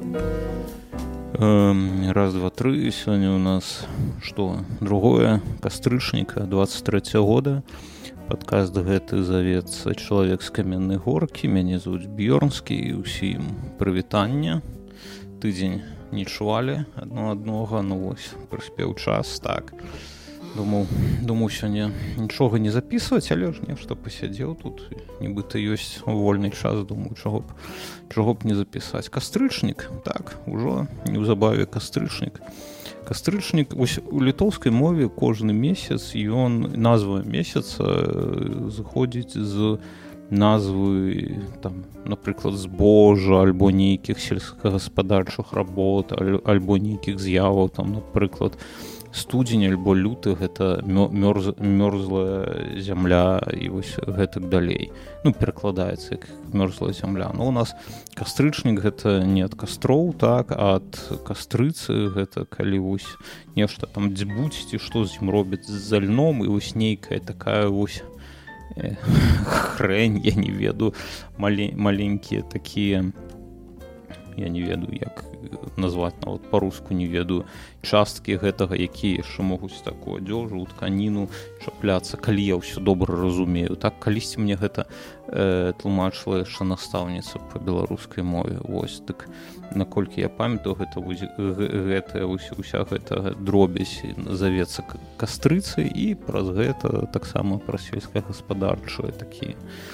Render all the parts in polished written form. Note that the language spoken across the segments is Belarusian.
Раз, два, тры. Сегодня у нас что? 2 кастрычніка 23 года. Падкаст гэты завецца «Чалавек з каменнай горкі». Мяне зовут Бьёрнскі і ўсім прывітання. Тыдзень не чувалі аднога, ну вось, прыспеў час, так. Думаў сёння нічога не запісваць, але ж нешта пасядзеў тут. Нібыта ёсць вольны час, думаю, чаго б не запісаць. Кастрычнік, так, ужо неўзабаве кастрычнік. Кастрычнік, вось у літоўскай мове кожны месяц назва месяца зыходзіць з назвы, там, напрыклад, збожжа, альбо нейкіх сельскагаспадарчых работ, альбо нейкіх з'яваў, там, напрыклад, студзень альбо люты, гэта мёрзлая зямля і вось гэтак далей. Ну, перакладаецца як мёрзлая зямля. Но у нас кастрычнік гэта не ад кастроў, так, а ад кастрыцы, гэта калі вось нешта там дзьбуць, ці што з ім робяць з льном, і вось нейкая такая вось хрень, я не ведаю, маленькія такія, я не ведаю, як назваць, нават па-руску не ведаю, часткі гэтага, якія яшчэ могуць такую адзежу, тканіну чапляцца, калі я ўсё добра разумею. Так, калісьці мне гэта тлумачыла яшчэ настаўніца па беларускай мове. Вось, так, наколькі я памятаю, уся гэта дробязь завецца кастрыцай, і праз гэта таксама пра сельскагаспадарчыя такія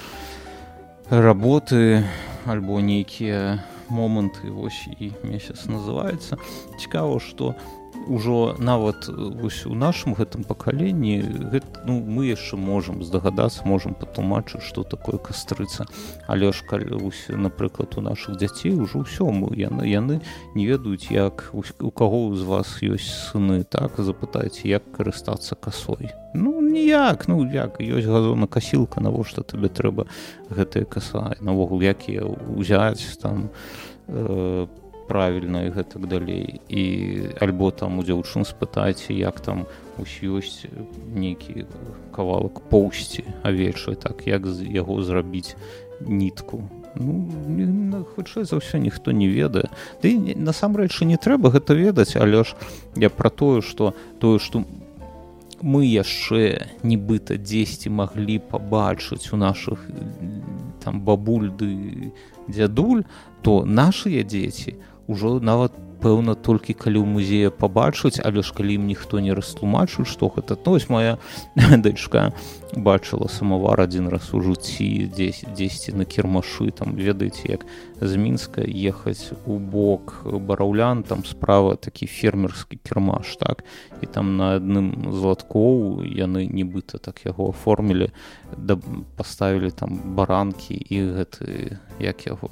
работы альбо нейкія моманты, вось і месяц называецца. Цікава, што ўжо нават вось у нашым гэтым пакаленні мы яшчэ можам здагадацца, можам патлумачыць, што такое кастрыца. Але ж калі, напрыклад, у нашых дзяцей ужо ўсё, яны не ведаюць, як у каго з вас ёсць сыны, так, запытайце, як карыстацца касой. Ну, ніяк, як, ёсць газонакасілка, навошта табе трэба гэтая каса, навогул, як яе ўзяць, там, правільна і гэтак далей. І альбо там у дзяўчын спытайце, як там ёсць нейкі кавалак поўсці авечай, так, як з яго зрабіць нітку. Хутчэй за ўсё ніхто не ведае. Ды насамрэч не трэба гэта ведаць, але ж я пра тое, што мы яшчэ нібыта дзесьці маглі пабачыць у нашых там бабуль ды дзядуль, то нашыя дзеці ўжо нават, пэўна, толькі калі ў музеі пабачыць, але ж калі ім ніхто не растлумачыць, што гэта. Ну, вось моя дачка бачыла самавар адзін раз у жыцці дзесьці на кірмашы, там, ведаеце, як з Мінска ехаць у бок Бараўлян, там справа такі фермерскі кірмаш, так, і там на адным з латкоў яны нібыта так яго аформілі, паставілі там баранкі і гэты, як яго,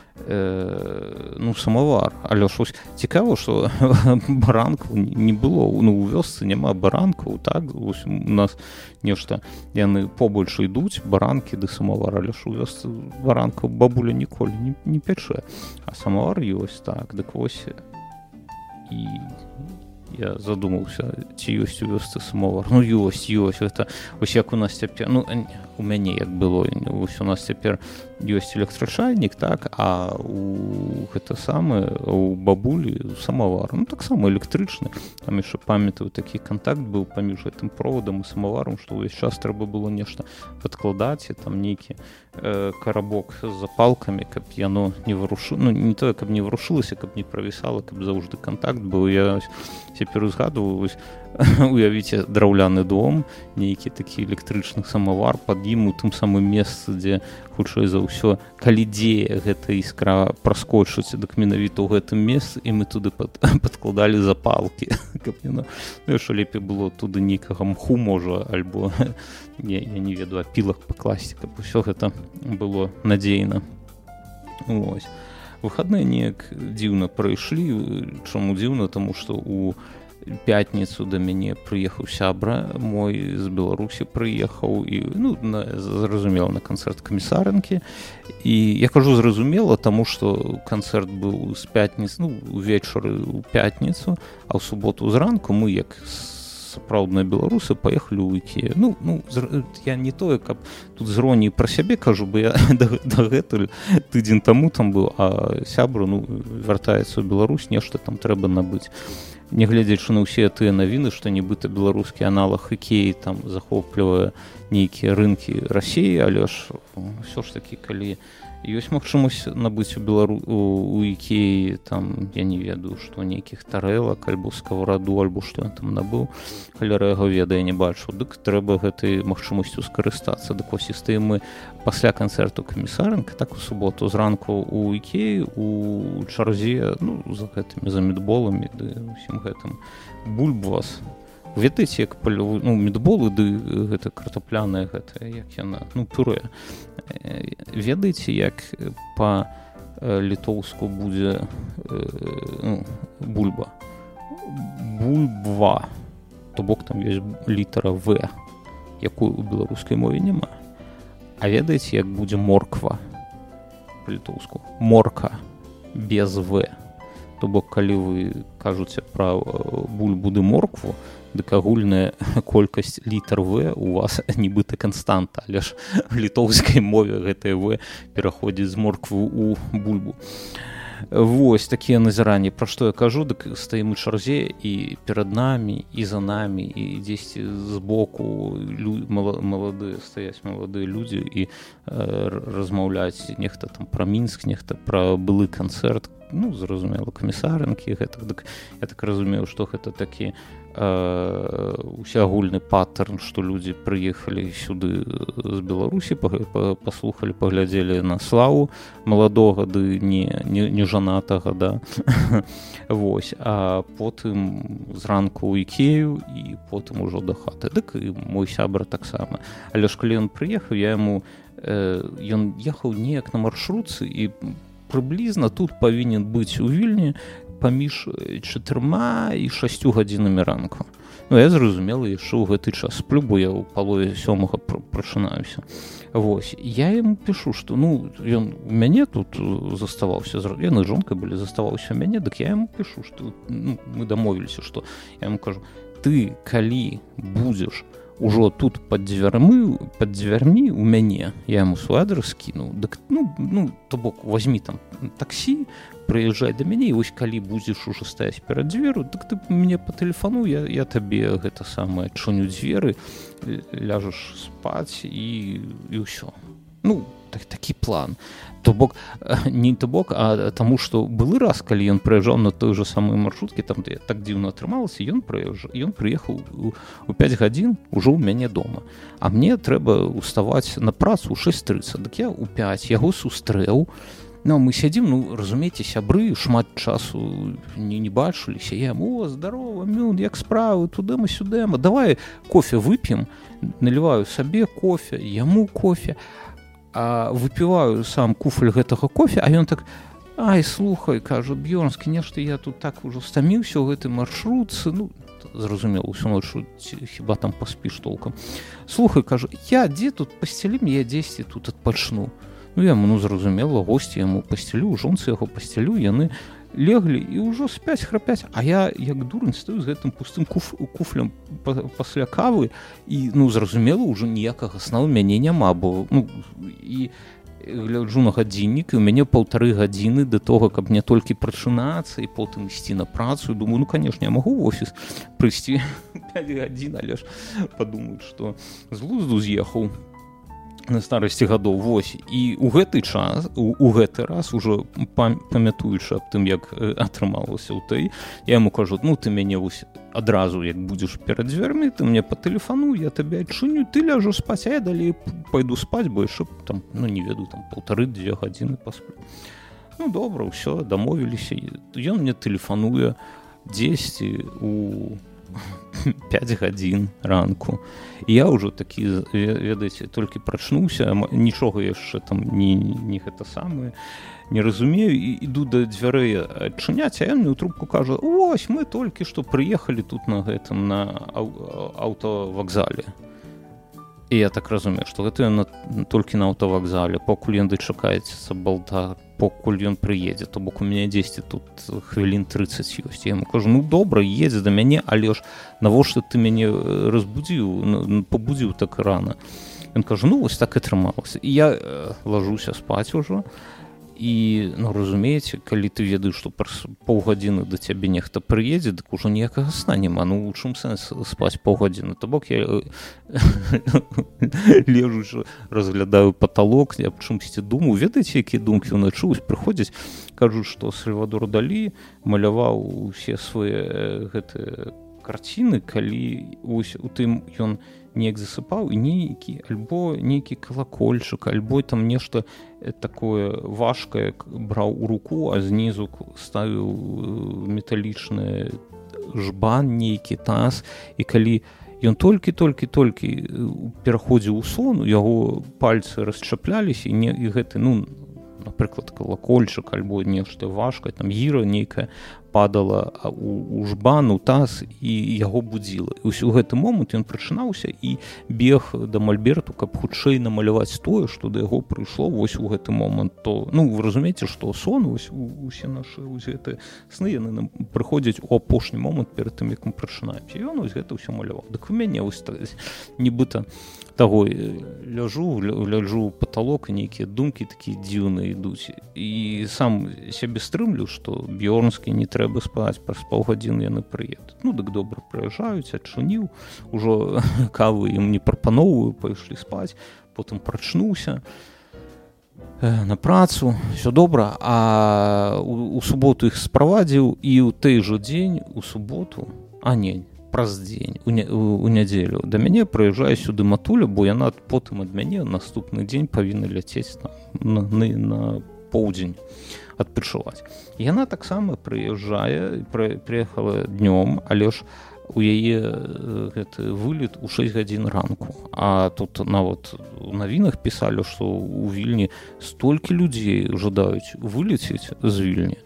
самавар. Але ж цікава, што баранкаў не было, у вёсцы няма баранкаў, так, у нас нешта, яны побольш ідуць, баранкі ды самавар, але ж у вёсцы баранкаў бабуля ніколі не пячэ, а самавар ёсць, так, дык вось, і я задумаўся, ці ёсць у вёсцы самавар. Ёсць, гэта вось як у нас цяпер, у мяне як было, вось у нас цяпер ёсць электрачайнік, так, а гэта самае, у бабулі самавар, таксама электрычны. Там яшчэ памятаю, такі кантакт быў паміж гэтым проводам і самаварам, што ўвесь час трэба было нешта падкладаць, і там нейкі карабок з запалкамі, каб яно не варушылася, не тое, каб не варушылася, каб не правісала, каб заўжды кантакт быў. Я цяпер узгадваю, уявіце драўляны дом, нейкі такі электрычны самавар, пад ім у тым самым месцы, дзе хутчэй за ўсё, калі дзе гэта іскра праскочыць, дык менавіта ў гэтым месцы, і мы туды падкладалі запалкі, каб яшчэ лепей было туды нейкага мху, можа, альбо я не ведаю, апілак пакласці, каб усё гэта было надзейна. Вось. Выхадныя неяк дзіўна прайшлі. Чаму дзіўна? Таму што у пятніцу да мяне прыехаў сябра мой з Беларусі, прыехаў, і, зразумела, на канцэрт Камісарынкі. І я кажу зразумела, таму што канцэрт быў з пятніцы, увечары ў пятніцу, а ў суботу зранку мы, як сапраўдныя беларусы паехалі ў Ікею. Ну, я не тое, каб тут з іроніяй пра сябе кажу, бо я дагэтуль тыдзень таму там быў, а сябра вяртаецца ў Беларусь, нешта там трэба набыць. Нягледзячы на ўсе тыя навіны, што нібыта беларускі аналаг Ікеі там захоплівае нейкія рынкі Расіі, але ж ўсё ж такі, калі ёсць магчымасць набыць у Ікеі там, я не ведаю, што нейкіх тарэлак альбо скавараду, альбо што ён там набыў, каляра яго ведае, не бачу, дык трэба гэтай магчымасцю скарыстацца. Дык вось і стаім мы пасля канцэрту Камісарэнка, так у суботу зранку у Ікеі у чарзе, за гэтымі, за мідболамі ды усім гэтым. Бульбвас. Ведаеце, як мідболы, ды гэта картапляная, гэта, як яна, пюрэ. Ведаеце, як па-літоўску будзе бульба? Бульбва. То бок там ёсць літара В, якой у беларускай мове няма. А ведаеце, як будзе морква па-літоўску? Морка без В. То бок, калі вы кажуце пра бульбу ды моркву, дык агульная колькасць літар В у вас нібыта канстанта, але ж в літоўскай мове гэтая В пераходзіць з морквы ў бульбу. Вось такія назіранні. Пра што я кажу, дык стаім у чарзе, і перад намі, і за намі, і дзесьці збоку стаяць маладыя людзі і размаўляць нехта там пра Мінск, нехта пра былы канцэрт, зразумела, Камісарэнкі, гэтак. Дык я так разумею, што гэта такі усеагульны паттерн, што людзі прыехалі сюды з Беларусі, паслухалі, паглядзелі на славу маладога ды не жанатага, да. Вось, а потым зранку ў Ікею і потым ужо да хаты. Дык і мой сябра таксама. Але ж калі ён прыехаў, ён ехаў неяк на маршрутцы, і прыблізна тут павінен быць у Вільні паміж 4 і 6 гадзінамі ранку. Я зразумела, яшчэ ў гэты час сплю, бо я ў палове 7 прачынаюся. Вось, я яму пішу, што ён у мяне тут заставаўся, яны з жонкай былі, заставаўся у мяне, дык я яму пішу, што мы дамовіліся, што я яму кажу, ты калі будзеш ужо тут пад дзвярмі у мяне, я яму свой адрес скінуў, дык, то бок, возьмі там таксі, прыязджай да мяне, і вось калі будзеш ужо стаяць перад дзверу, дык ты мне па тэлефану, я табе гэта самае адчыню дзверы, ляжаш спаць і ўсё. Такі план. То бок, не то бок, а таму, што былы раз, калі ён прыязджаў на той жа самой маршруткі, там де так дзіўна атрымалася, ён прыехаў у 5 гадзін ужо ў мяне дома. А мне трэба ўставаць на працу ў 6:30. Дык я ў 5 яго сустрэў. Мы сядзім, разумееце, сябры, шмат часу не бачыліся. Я яму, здарова, Мюн, як справы, тудыма-сюдыма, давай кофе вып'ем, наліваю сабе кофе, яму кофе, а выпіваю сам куфель гэтага кофе, а ён так, ай, слухай, кажу, Бьёрнскі, нешта я тут так ужо стаміўся ў гэтай маршрутцы, зразумела, усю ночу хіба там паспіш толкам. Слухай, кажу, я дзе тут пасцялім, я дзесьці тут адпачну. Яму, зразумела, госці яму пасцялю, жонцы яго пасцялю, яны леглі і ўжо спяць, храпяць, а я, як дурань, стаю з гэтым пустым куфлем пасля кавы, і, зразумела, ўжо ніякага сна ў мяне няма, бо, і гляджу на гадзіннік, і ў мяне 1,5 гадзіны да того, каб мне толькі прачынацца і потым ісці на працу, і думаю, канешне, я магу ў офіс прыйсці 5 гадзін, але ж падумаюць, што з глузду з'ехаў на старасці гадоў. Вось, і ў гэты час, у гэты раз, ужо памятуючы аб тым, як атрымалася ў той, я яму кажу, ты мяне вось адразу, як будзеш перад дзвярмі, ты мне па тэлефану, я табе адчыню, ты ляжу спаць, а я далей пайду спаць, бо яшчэ там, не ведаю, там 1,5-2 гадзіны пасплю. Добра, ўсё, дамовіліся. Ён мне тэлефануе дзесьці у 5 гадзін ранку. І я ўжо такі, ведаеце, толькі прачнуўся, нічога яшчэ там не гэта самае, не разумею, і іду да дзвярэй адчыняць, а ён мне ў трубку кажа, вось, мы толькі што прыехалі тут на гэтым, на аўтавакзале. І я так разумею, што гэта ён толькі на аўтавакзале, пакуль ён дачакаецца балта покуль ён прыедзе, то бок у мяне дзесьці тут хвілін 30 ёсць. Я яму кажу, ну добра, едзе да мяне, але ж навошта ты мяне разбудзіў, пабудзіў так рана? Ён кажа, ну вось так і атрымалася. І я лажуся спаць ужо, і, ну, разумееце, калі ты ведаеш, што праз паўгадзіны да цябе нехта прыедзе, дык ужо ніякага сна няма. Ну, у чым сэнс спаць паўгадзіны? То бок я лежучы, разглядаю паталок, аб чымсьці думаю. Ведаеце, якія думкі ўначы прыходзяць? Кажуць, што Сальвадор Далі маляваў усе свае гэтыя карціны, калі ось у тым ён неяк засыпаў, і нейкі калакольчык, альбо там нешта такое важкае браў у руку, а знізу ставіў металічны жбан, нейкі таз, і калі ён толькі пераходзіў у сон, яго пальцы расчапляліся, і гэты, ну, напрыклад, калакольчык, альбо нешта важкае, там гіра нейкая падала у жбан, у таз, і яго будзіла. І ўсё гэты момант ён прачынаўся і бег да мальберту, каб хутчэй намаляваць тое, што да яго прыйшло вось у гэты момант. То, ну, вы разумееце, што сон, вось усе нашы гэтыя сны, яны нам прыходзяць у апошні момант перад тым, як мы прачынаемся. І ён вось гэта ўсё маляваў. Дык у мяне вось нібыта таго ляжу ў паталок, і нейкія думкі такія дзіўныя ідуць. І сам сябе стрымлю, што Бьорнскі не трэба спаць, праз паўгадзіны яны прыедуць. Ну, дык добра прыязджаюць, адчыніў, ужо кавы ім не прапаноўваю, пайшлі спаць, потым прачнуўся на працу, все добра, а у суботу іх справадзіў, і ў той жа дзень, у суботу, праз дзень, у нядзелю, да мяне прыязджае сюды матуля, бо яна потым ад мяне наступны дзень павінна ляцець на поўдзень адпачываць. Яна таксама прыязджае, прыехала днём, але ж у яе гэты вылет у 6 гадзін ранку. А тут нават у навінах пісалі, што ў Вільні столькі людзей жадаюць вылецець з Вільні,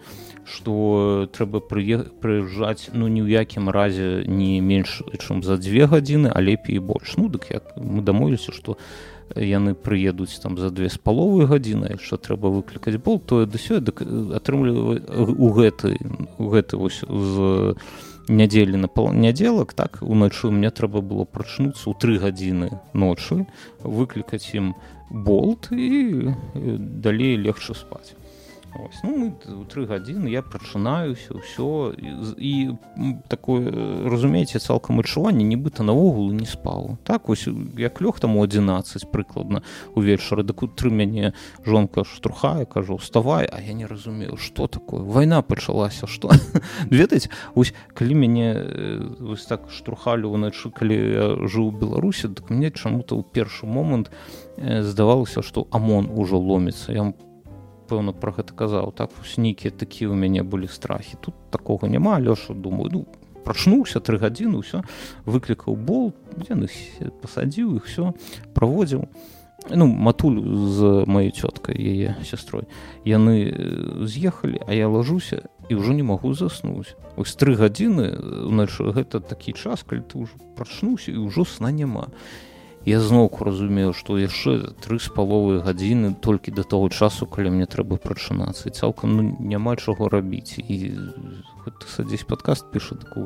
што трэба прыязджаць, ну, ні ў якім разе не менш, чым за 2 гадзіны, а лепей і больш. Ну, дык як мы дамовіліся, што яны прыедуць там за 2,5 гадзіны, якщо трэба выклікаць болт, то да сёння, дык атрымлівае у гэты вось з нядзелі на панядзелак, так, уначы мне трэба было прачнуцца ў 3 гадзіны ночы, выклікаць ім болт і далей легче спаць. Ось, ну, мы ў 3 гадзіны, я прачынаюся, ўсё, і такое, разумееце, цалкам адчуванне, нібыта навогул не спаў. Так, ось, як лёг там у 11 прыкладна увечары, дык у 3 мяне жонка штурхае, кажу, вставай, а я не разумею, што такое, вайна пачалася, што? Ведаеце, ось, калі мяне вось так штурхалі ўначы, калі я жыў у Беларусі, дык мне чаму-то ў першы момант здавалася, што АМОН ужо ломіцца. Я пэўна пра гэта казаў, так, нейкія такія ў мяне былі страхі. Тут такога няма, Лёша, думаю, ну, прачнуўся 3 гадзіны, ўсё, выклікаў болт, яны пасадзіў іх, все, праводзіў. Ну, матуль з маёй цёткай, яе сястрой. Яны з'ехалі, а я лажуся і ўжо не магу заснуць. Ось 3 гадзіны, значит, гэта такі час, калі ты ўжо прачнуўся і ўжо сна няма. Я зноўку разумею, што яшчэ 3,5 гадзіны толькі да таго часу, калі мне трэба прачынацца. І цалкам, ну, няма чаго рабіць. І ты садзісь падкаст піша, так у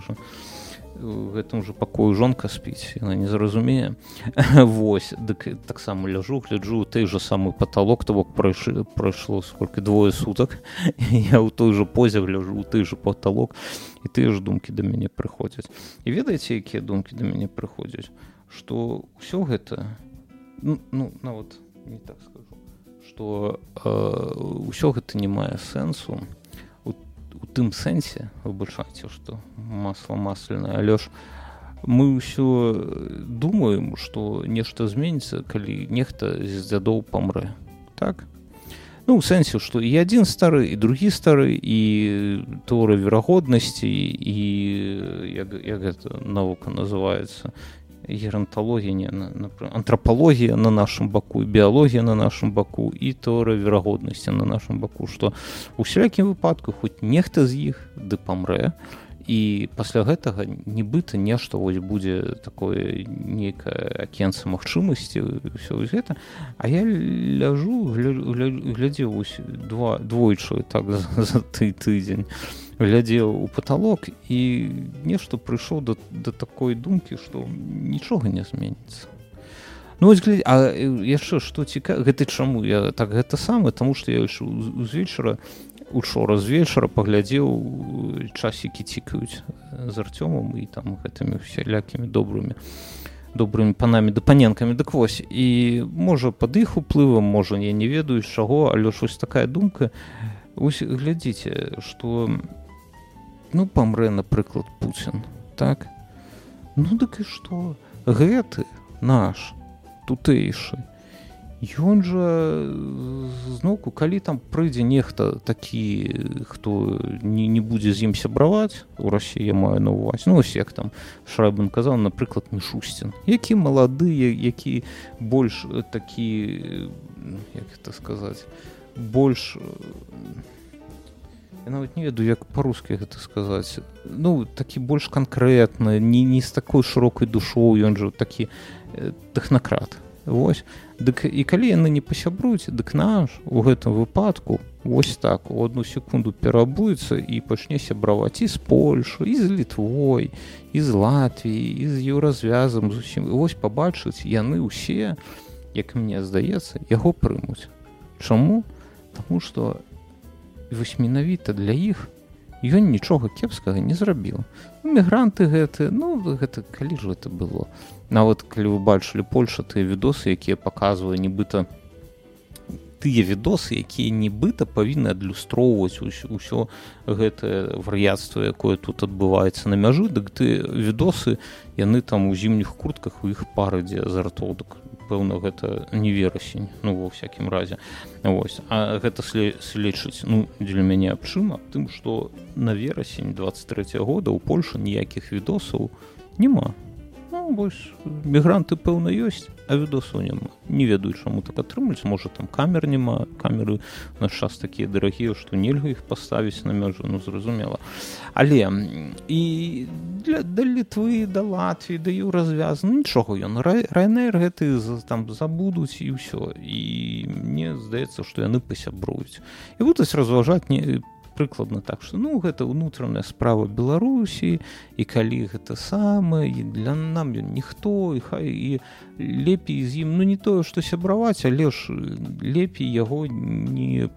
гэтым жа пакою жонка спіць, яна не зразумее. Вось, дык таксама ляжу, гляджу ў той жа самы паталок, то бок прайшло сколькі 2 сутак. Я ў той жа позе гляджу, ў той жа паталок, і тыя ж думкі да мяне прыходзяць. І ведаеце, якія думкі да мяне прыходзяць? Што ўсё гэта, ну, нават не так скажу, што ўсё гэта не мае сэнсу у тым сэнсе, выбачайце, што масла масляное, але ж мы ўсё думаем, што нешта зменіцца, калі нехта з дзядоў памрэ, так? Ну, ў сэнсе, што і адзін стары, і другі стары, і тэорыя верагоднасці, і як гэта навука называецца, геронтологія, антрапалогія на нашым баку, біялогія на нашым баку і тэорыя верагоднасці на нашым баку, што ў усялякім выпадку хоць нехта з іх ды памрэ, і пасля гэтага нібыта нешта вось будзе такое нейкае акенца магчымасці ўсё гэта. А я ляжу глядзеў вось двойчы так за тыдзень глядзеў у паталок і нешта прыйшоў да такой думкі, што нічога не зменіцца. Ну вось глядзі, а яшчэ што цікава, гэта чаму я так гэта самае, таму што я з вечара учора з вечара паглядзеў часікі цікаюць з Артёмам і там гэтымі всялякімі добрымі панамі да паненкамі. Дык вось, і можа пад іх уплывам, можа я не ведаю з чаго, але ж вось такая думка. Вось глядзіце, што ну памрэ, напрыклад, Пуцін, так? Ну дык і што? Гэты наш тутэйшы, ён жа зноўку, калі там прыйдзе нехта такі, хто не будзе з ім сябраваць, у Расіі я маю на ўвазе, ну ось як там Шрайбман казаў, напрыклад, Мішустін, які малады, які больш такі, як гэта сказаць, больш, я нават не ведаю, як па-руску гэта сказаць, ну такі больш канкрэтны, не з такой шырокай душой, ён жа такі тэхнакрат. Вось. Дык і калі яны не пасябруюць, дык наш у гэтым выпадку вось так у одну секунду перабуецца і пачне сябраваць і з Польшай, і з Літвой, і з Латвіяй, і з еўразвязам, з усім. Вось пабачыць яны ўсе, як мне здаецца, яго прымуць. Чаму? Таму што вось менавіта для іх ён нічога кепскага не зрабіў. Мігранты гэты, ну гэта калі ж гэта было? Нават калі вы бачылі Польша, тыя відосы, якія паказвае нібыта тыя відосы, якія нібыта павінны адлюстроўваць усё гэтае вар'яцтва, якое тут адбываецца на мяжы, дык ты відосы, яны там у зімніх куртках, у іх пар ідзе з ртоў, дык пэўна гэта не верасень, ну ва ўсякім разе. Вось. А гэта сведчыць, ну для мяне аб чым? Аб тым, што на верасень 23 года ў Польшы ніякіх відосаў няма. Ну, вось, мігранты, пэўна, ёсць, а відосаў няма. Не ведаю, чаму так атрымліваць. Можа, там камер няма. Камеры у наш час такія дарагія, што нельга іх паставіць на мяжу, ну, зразумела. Але і да Літвы, да Латвіі, да еўразвязу, ну, нічога ён. Ryanair гэты там забудуць і ўсё. І мне здаецца, што яны пасябруюць. І будуць разважаць прыкладна так, што ну гэта ўнутраная справа Беларусі, і калі гэта самае, і для нам ён ніхто, і хай і лепей з ім, ну не тое, што сябраваць, але ж лепей яго не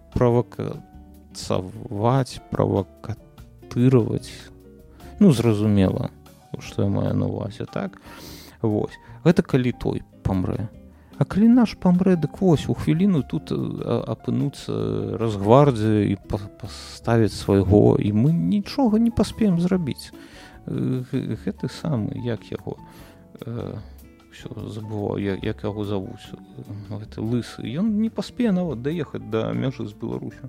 правакацаваць, правакатыраваць. Ну, зразумела, што я маю на ўвазе, так? Вось. Гэта калі той памрэ. А калі наш памрэ, дык вось, у хвіліну тут апынуцца Росгвардія і паставіць свайго, і мы нічога не паспеем зрабіць. Гэты самы, як яго, ўсё забываў, як яго завуць, гэты лысы, ён не паспее нават даехаць да мяжы з Беларусю.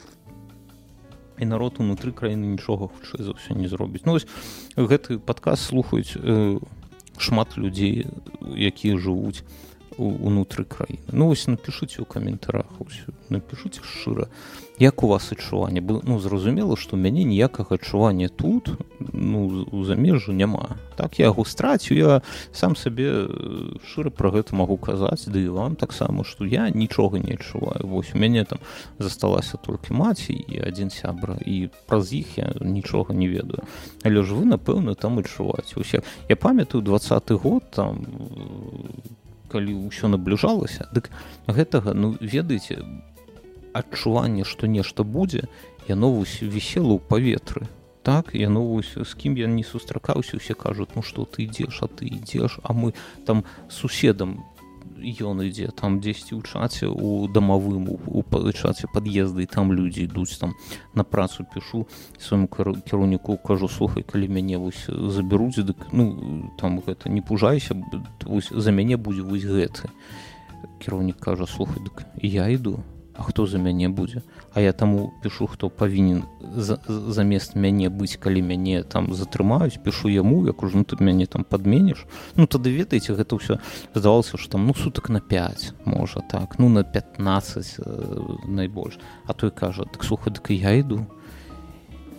І народ унутры краіны нічога хутчэй за ўсё не зробіць. Ну вось, гэты падкаст слухаюць шмат людзей, якія жывуць унутры краіны. Ну вось напішыце ў каментарах, напішыце шчыра, як у вас адчуванне. Ну зразумела, што ў мяне ніякага адчування тут, ну у замежжы няма. Так я яго страціў, я сам сабе шчыра пра гэта магу казаць, ды і вам таксама, што я нічога не адчуваю. Вось у мяне там засталася толькі маці і адзін сябра, і праз іх я нічога не ведаю. Але ж вы, напэўна, там адчуваеце. Я памятаю 20-й год, там калі ўсё набліжалася, дык гэтага, ну, ведаеце, адчуванне, што нешта будзе, яно вісела ў паветры. Так, яно з кім я не сустракаўся, усе кажуць, ну што ты ідзеш, а ты ідзеш, а мы там суседам ён ідзе, там дзесьці ў чаце, у дамавым, у чаце пад'езда, і там людзі ідуць, там на працу пішу, свайму кіраўніку кажу, слухай, калі мяне вось забяруць, дык, ну, там гэта, не пужайся, вось за мяне будзе вось гэты. Кіраўнік кажа, слухай, дык я іду, а хто за мяне будзе? А я таму пішу, хто павінен замест мяне быць, калі мяне там затрымаюць, пішу яму, я кажу, ну ты мяне там падменіш. Ну тады, ведаеце, гэта ўсё здавалася, што там, ну сутак на 5, можа так, ну на 15 найбольш. А той кажа, так слухай, дык я іду.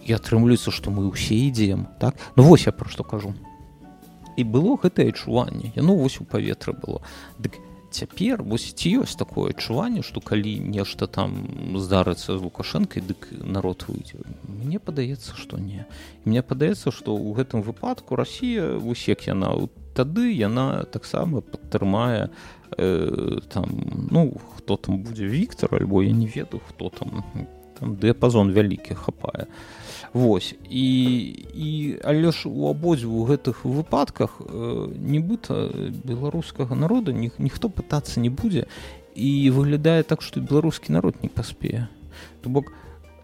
і атрымліваецца, што мы ўсе ідзем, так? Ну вось я пра што кажу. І было гэтае адчуванне, яно вось у паветры было. Дык цяпер вось ці ёсць такое адчуванне, што калі нешта там здарыцца з Лукашэнкай, дык народ выйдзе. Мне падаецца, што не. І мне падаецца, што ў гэтым выпадку Расія, вось як яна, тады яна таксама падтрымае там, ну, хто там будзе Віктор, альбо я не ведаю, хто там дыяпазон вялікі хапае. Вось. Але ж у абодвух гэтых выпадках нібыта беларускага народа ніхто пытацца не будзе, і выглядае так, што беларускі народ не паспее. То бок,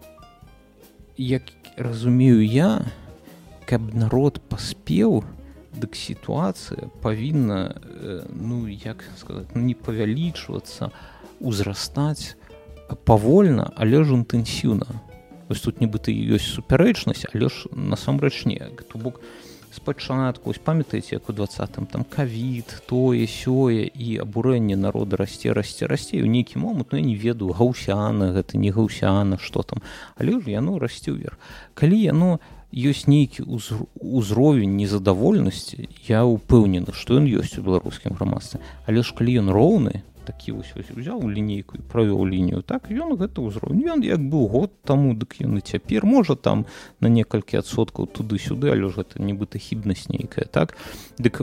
як разумею я, каб народ паспеў, дык сітуацыя павінна, ну, як сказаць, не павялічвацца, узрастаць павольна, але ж інтэнсіўна. Вось тут нібыта ёсць супярэчнасць, але ж насамрэч не. То бок, спачатку, памятаеце, як у 20-м, там ковід, тое, сёе, і абурэнне народа расце, і ў нейкі момант, ну, я не ведаю, гаўсяна гэта, не гаўсяна, што там, але ж яно расце ўверх. Калі яно ёсць нейкі ўзровень незадаволенасці, я ўпэўнены, што ён ёсць у беларускім грамадстве, але ж калі ён роўны, такі вось узяў лінейку і правёў лінію, так, ён гэта ўзровень. Ён як быў год таму, дык ён і цяпер, можа там на некалькі адсоткаў туды-сюды, але ж гэта нібыта хібнасць нейкая, так? Дык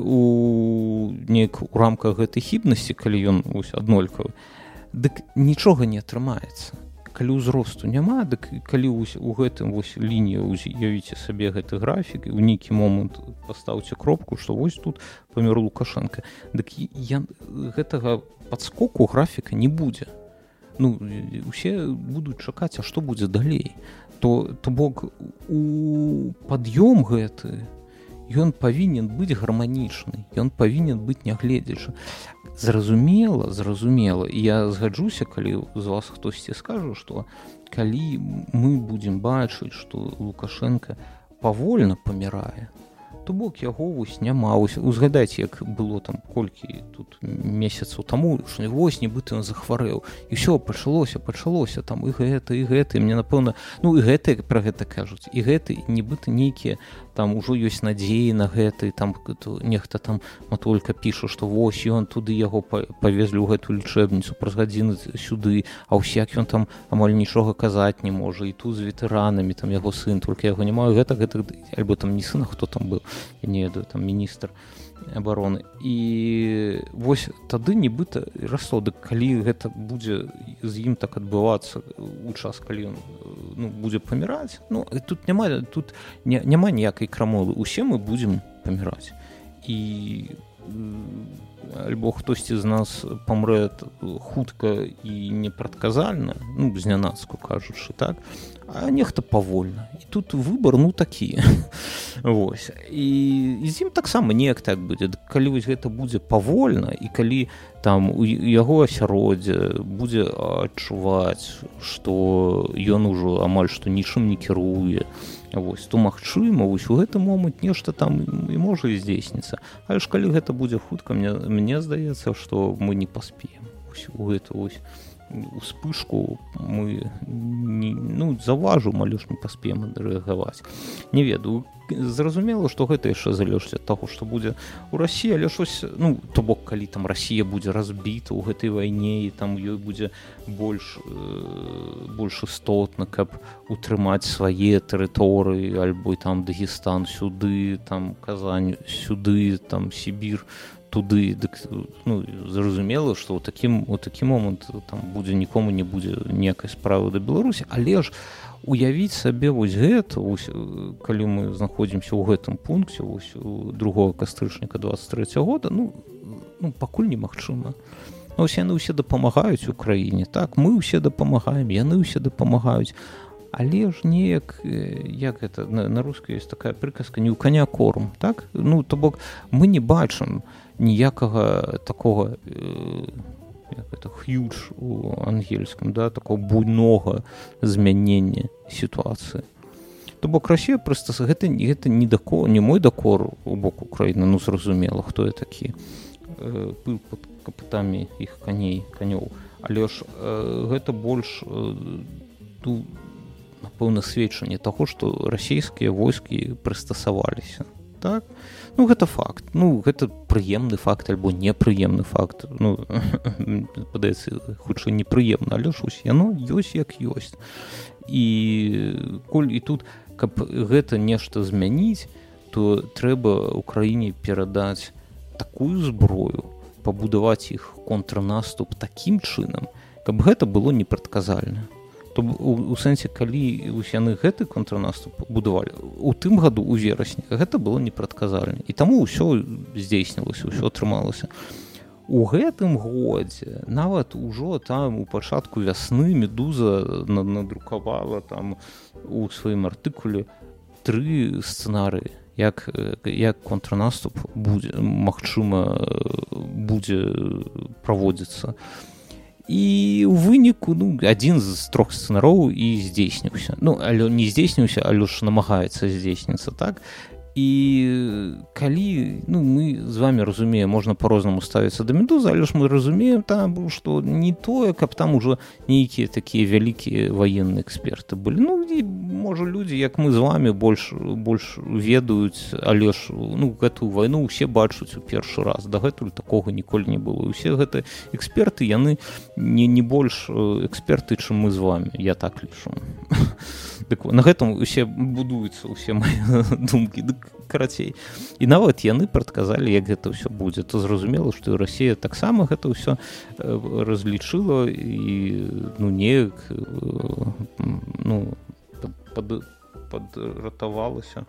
у рамках гэтай хібнасці, калі ён вось аднолькавы, дык нічога не атрымаецца. Калі ўзросту няма, дык калі у гэтым вось лінію уявіце сабе гэты графік, і ў нейкі момант пастаўце кропку, што вось тут памёр Лукашенко, дык гэтага падскоку графіка не будзе. Ну, усе будуць чакаць, а што будзе далей? То бок, у пад'ём гэты, ён павінен быць гарманічны, ён павінен быць нягледзячы. Зразумела, і я згаджуся, калі з вас хтосьці скажа, што калі мы будзем бачыць, што Лукашенко павольна памірае, то бок яго вось няма. Узгадайце, як было там колькі тут месяцаў таму, што вось нібыта ён захварэў, і ўсё пачалося там і гэта, і мне напэўна, ну і гэты пра гэта кажуць, і гэты нібыта нейкія там ужо ёсць надзеі на гэта, і там нехта там матолька піша, што вось ён туды яго павезлі ў гэтую лічэбніцу праз гадзіны сюды, а ўсяк ён там амаль нічога казаць не можа, і тут з ветэранамі, там яго сын, толькі яго няма, гэта, альбо там не сын, а хто там быў, я не ведаю, там міністр абароны. І вось тады нібыта расло, дык калі гэта будзе з ім так адбывацца у час, калі ён будзе паміраць, ну, тут няма ніякай крамолы, усе мы будзем паміраць. І альбо хтосьці з нас памрэ хутка і непрадказальна, ну, знянацку кажучы, так, а нехта павольна. І тут выбар, ну, такі. Вось. І з ім таксама неяк так будзе. Калі вось гэта будзе павольна, і калі там у яго асяроддзе будзе адчуваць, што ён ужо амаль што нічым не кіруе, вось, то магчыма, вось у гэты момант нешта там і можа і здзейсніцца. Але ж калі гэта будзе хутка, мне здаецца, што мы не паспеем. Вось у гэту вось успышку мы заўважым, але ж не паспеем рэагаваць. Не ведаю, зразумела, што гэта яшчэ залежыць ад таго, што будзе ў Расіі, але щось, ну, то бок, калі там Расія будзе разбіта ў гэтай вайне, і там ёй будзе больш істотна, каб утрымаць свае тэрыторыі, альбо там Дагестан сюды, там Казань сюды, там Сібір туды, дык, ну, зразумела, што ў такі момант там будзе нікому не будзе ніякай справы да Беларусі, але ж уявіць сабе вось гэта, вось, калі мы знаходзімся ў гэтым пункце, вось, 2 кастрычніка 23 года, ну, пакуль немагчыма. Вось яны ўсе дапамагаюць Украіне, так, мы ўсе дапамагаем, яны ўсе дапамагаюць, але ж неяк, як гэта, на рускай ёсць такая прыказка, не ў каня корм, так? Ну, то бок, мы не бачым ніякага такога, як гэта, huge у ангельскім, да, такого буйнога змянення сітуацыі. То бок Расія проста, гэта не мой дакор у бок Украіны, ну, зразумела, хто я такі, пыл пад капытамі іх канёў, але ж гэта больш напэўна, сведчанне таго, што расійскія войскі прыстасаваліся. Так? Ну, гэта факт. Ну, гэта прыемны факт альбо непрыемны факт. Ну, падаецца, хутчэй непрыемна, але ж яно ёсць як ёсць. І коль і тут, каб гэта нешта змяніць, то трэба ўкраіне перадаць такую зброю, пабудаваць іх контрнаступ такім чынам, каб гэта было непрадказальна. То у сэнсе, калі яны гэты контрнаступ будавалі, у тым году, у верасні, гэта было непрадказальна. І таму ўсё здзейснілася, ўсё атрымалася. У гэтым годзе, нават ужо там у пачатку вясны Медуза надрукавала там у сваім артыкуле 3 сцэнарыі, як контрнаступ будзе, магчыма, будзе праводзіцца. І ў выніку адзін з 3 сцэнароў і здзейсніўся. Ну, але не здзейсніўся, але ж намагаецца здзейсніцца, так? І калі, мы з вами разумеем, можна по-рознаму ставіцца да Медузы, але ж мы разумеем там, што не тое, каб там ужо нейкія такія вялікія ваенныя эксперты былі. Можа, людзі, як мы з вами, больш ведаюць, але ж гэтую вайну ўсе бачуць у першы раз. Дагэтуль такога ніколі не было. Усе гэтыя эксперты, яны не больш эксперты, чым мы з вами. Я так лічу. На гэтым усе будуюцца, усе мае думкі. Карацей. І нават яны прадказалі, як гэта ўсё будзе. То зразумела, што і Расія таксама гэта ўсё разлічыла і неяк падратавалася.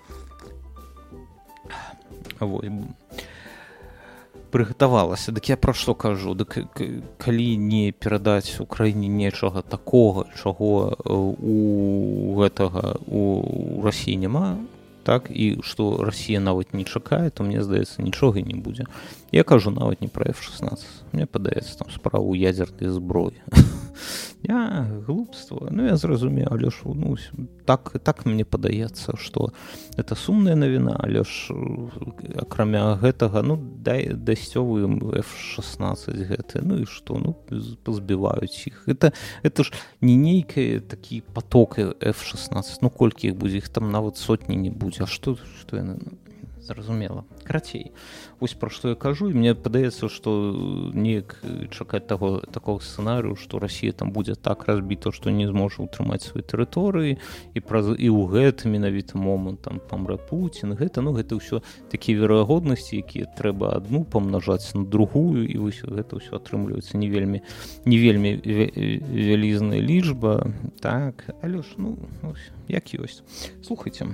Прыгатавалася. Дык я пра што кажу? Дык калі не перадаць Украіне нечага такога, чаго у Расіі няма, так, і што Расія нават не чакае, то мне здаецца, нічога не будзе. Я кажу нават не пра F-16. Мне падаецца, там справа ў ядзернай зброі. Глупства. Я зразумею, але ж так мне падаецца, што гэта сумная навіна, але ж акрамя гэтага, дасцёвы F-16 гэты, і што, пазбіваюць іх. Это ж не нейкі такі поток F-16, колькі іх будзе, іх там нават сотні не будзе. А што яны... Зразумела. Карацей, вось пра што я кажу, і мне падаецца, што неяк чакаць такога сцэнарыю, што Расія там будзе так разбіта, што не зможа ўтрымаць свае тэрыторыі, і ў гэты менавіта момант там памрэ Пуцін, гэта ўсё такія верагоднасці, якія трэба адну памнажаць на другую, і вось гэта ўсё атрымліваецца не вельмі вялізная лічба, так, але ж, як ёсць. Слухайце,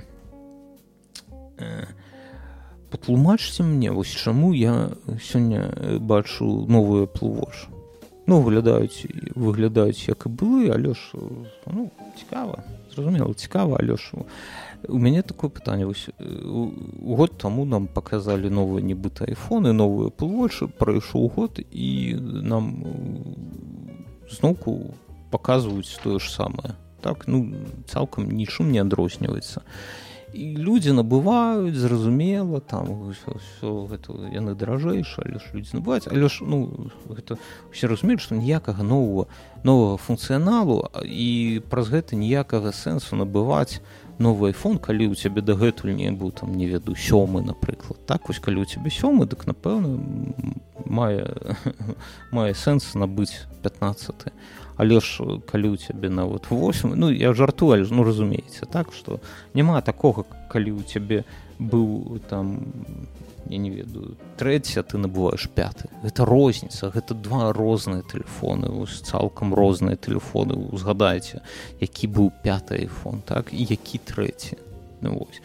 патлумачце мне, вось чаму я сёння бачу новыя Apple Watch. Выглядаюць як і былі, але ж, цікава, зразумела, цікава, але ж у мяне такое пытанне. Вось год таму нам паказалі новыя нібыта айфоны, новыя Apple Watch, прайшоў год, і нам зноўку паказваюць тое ж самае. Так, цалкам нічым не адрозніваецца. І людзі набываюць, зразумела, там ўсё гэта яны даражэйшыя, але ж людзі набываюць, але ж гэта усе разумеюць, што ніякага новага функцыяналу і праз гэта ніякага сэнсу набываць новы iPhone, калі ў цябе дагэтуль не быў там, не ведаю, 7, напрыклад. Так, вось калі ў цябе 7, дык напэўна мае сэнс набыць 15. Але ж калі ў цябе нават 8, я жартую, але ж разумееце, так, што няма такога, калі ў цябе быў там, я не ведаю, 3, а ты набываеш 5. Гэта розніца, гэта 2 розныя тэлефоны, цалкам розныя тэлефоны. Узгадайце, які быў 5 iPhone, так, і які 3. Вось.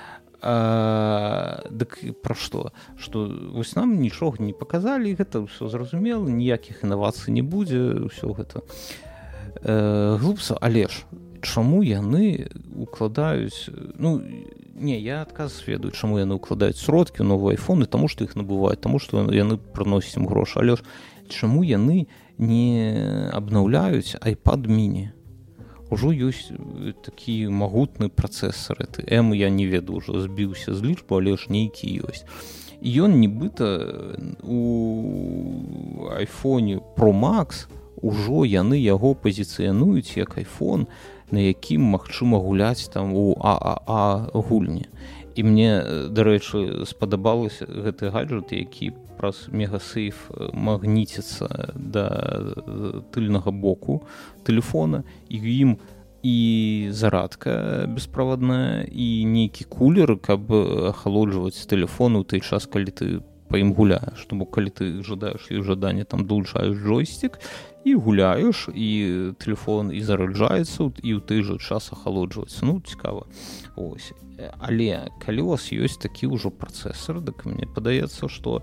Дык пра што? Што вось нам нічога не паказалі, гэта ўсё зразумела, ніякіх інавацый не будзе, ўсё гэта глупства, але ж чаму яны укладаюць, я адказ ведаю, чаму яны укладаюць сродкі ў новыя айфоны, таму што іх набываюць, таму што яны прыносяць ім грошы, але ж чаму яны не абнаўляюць iPad mini? Ужо ёсць такі магутны працэсар, M, я не ведаю, ужо збіўся з лічбу, але ж нейкі ёсць. І ён нібыта у iPhone Pro Max ужо яны яго пазіцыянуюць як iPhone, на якім магчыма гуляць там у ААА гульні. І мне, дарэчы, спадабалася гэты гаджет, які праз мегасейф магніціцца да тыльнага боку тэлефона, і ў ім і зарадка бесправадная, і нейкі кулер, каб ахалоджваць тэлефон у той час, калі ты па ім гуляеш. Тому калі ты жадаеш і жаданне, там долучаеш джойстик і гуляеш, і тэлефон і зараджаецца, і ў той жа час ахалоджваецца. Ну, цікава. Ось. Але калі у вас ёсць такі ўжо працэсар, дык мне падаецца, што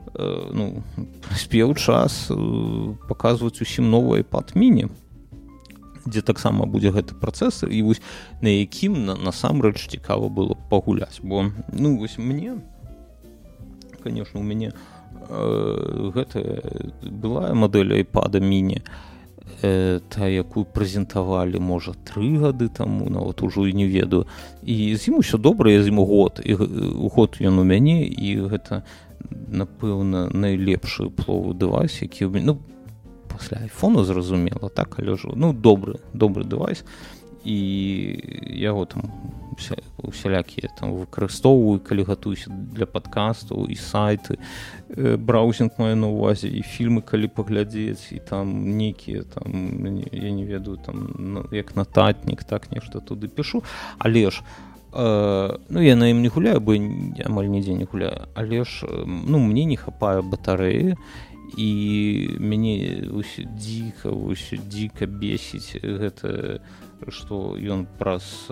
спеў час паказваць усім новы iPad mini, дзе таксама будзе гэты працэсар, і вось на якім насамрэч цікава было пагуляць. Бо, вось мне, конечно, у мяне гэта была мадэль iPad mini, та, якую прэзентавалі, можа, 3 гады таму, нават ужо і не ведаю. І з ім усё добра, я з ім год. І год ён у мяне, і гэта, напэўна, найлепшы пловы дэвайс, які ў мяне, пасля айфона, зразумела, так, але ж, добры дэвайс. І яго там усялякія там выкарыстоўваю, калі гатуюся для падкастаў, і сайты, браузінг маю на ўвазе, і фільмы, калі паглядзець, і там нейкія, там, я не ведаю, там, як нататнік, так, нешта туды пішу. Але ж, я на ім не гуляю, бо я амаль нідзе не гуляю, але ж, мне не хапае батарэі, і мяне дзіка бесіць гэта, што ён праз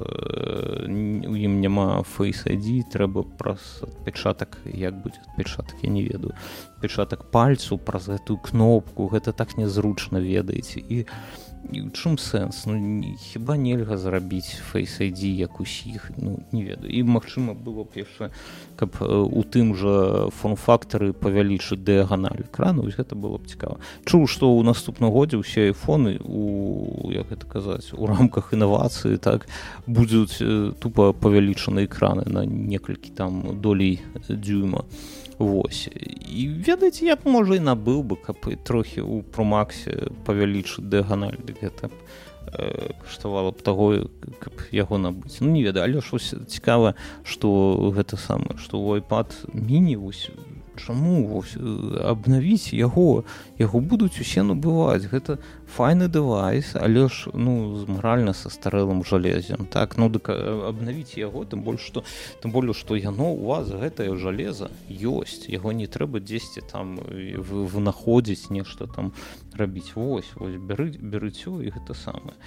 у ім няма Face ID, трэба праз адпечатак, як будзе адпечатак, я не ведаю, адпечатак пальцу праз гэтую кнопку, гэта так нязручна, ведаеце. І ў чым сэнс? Хіба нельга зрабіць Face ID як усіх? Не ведаю. І магчыма было б яшчэ, каб у тым жа форм-фактары павялічыць дыяганаль экрану, вось гэта было б цікава. Чуў, што ў наступным годзе ўсе айфоны як гэта казаць, у рамках інавацыі, так, будуць тупа павялічаны экраны на некалькі там долей дюйма. Вось. І ведаеце, я б, можа, і набыў бы, каб трохі ў Pro-Max павялічыць дыяганаль, гэта б каштавала б таго, каб яго набыць. Не ведаю, але ж цікава, што гэта самае, што ў iPad mini, вось, чаму вось абнавіць яго будуць усе набываць. Гэта файны дэвайс, але ж, з маральна састарэлым жалезем, так, дык абнавіць яго, тым болей, што яно у вас, гэтае жалеза ёсць, яго не трэба дзесьці там вынаходзіць, нешта там рабіць. Вось, берыце, і гэта самае.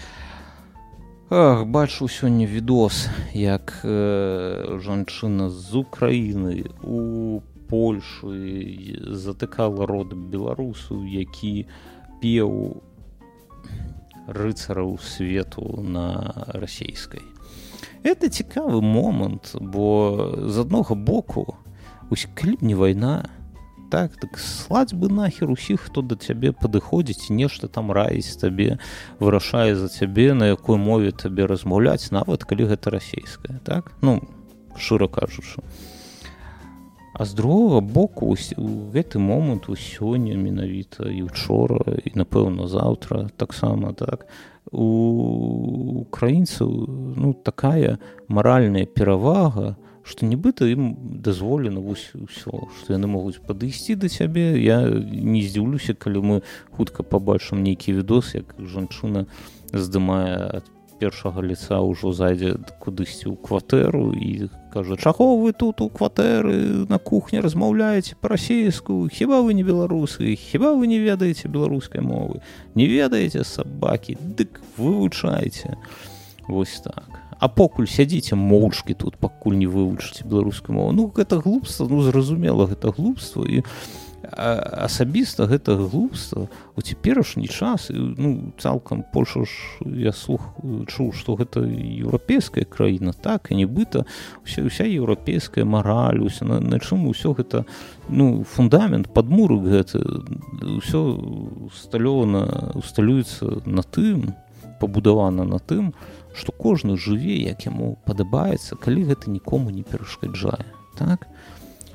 Бачу сёння відос, як жанчына з Украіны у Польшы затыкала рот беларусу, які пеў рыцараў свету на расейскай. Это цікавы момант, бо з аднога боку, калі б не вайна, так слаць бы нахер усіх, хто да цябе падыходзіць, нешта там раіць табе, вырашае за цябе, на якой мове табе размаўляць, нават калі гэта расейская, так? Шчыра кажучы. А з другога боку, у гэты момант, сёння менавіта, і учора, і, напэўна, заўтра таксама, так, у украінцаў, такая маральная перавага, што нібыта ім дазволена ўсё, што яны могуць падысці да цябе. Я не здзіўлюся, калі мы хутка пабачым нейкі відос, як жанчына здымае ад першага лица, ўжо зайдзе кудысьці ў кватэру і кажа: чаго вы тут у кватэры на кухні размаўляеце па-расейску? Хіба вы не беларусы? Хіба вы не ведаеце беларускай мовы? Не ведаеце, сабакі? Дык вывучайце. Вось так. А покуль сядзіце моўчкі тут, пакуль не вывучыце беларускую мову. Гэта глупства, зразумела, гэта глупства. І асабіста гэта глупства у цяперашні час. Цалкам Польша ж, я чуў, што гэта еўрапейская краіна, так, і нібыта уся еўрапейская мараль, на чым усё гэта, фундамент, падмурак гэты, усё усталюецца на тым, пабудавана на тым, што кожны жыве, як яму падабаецца, калі гэта нікому не перашкаджае, так?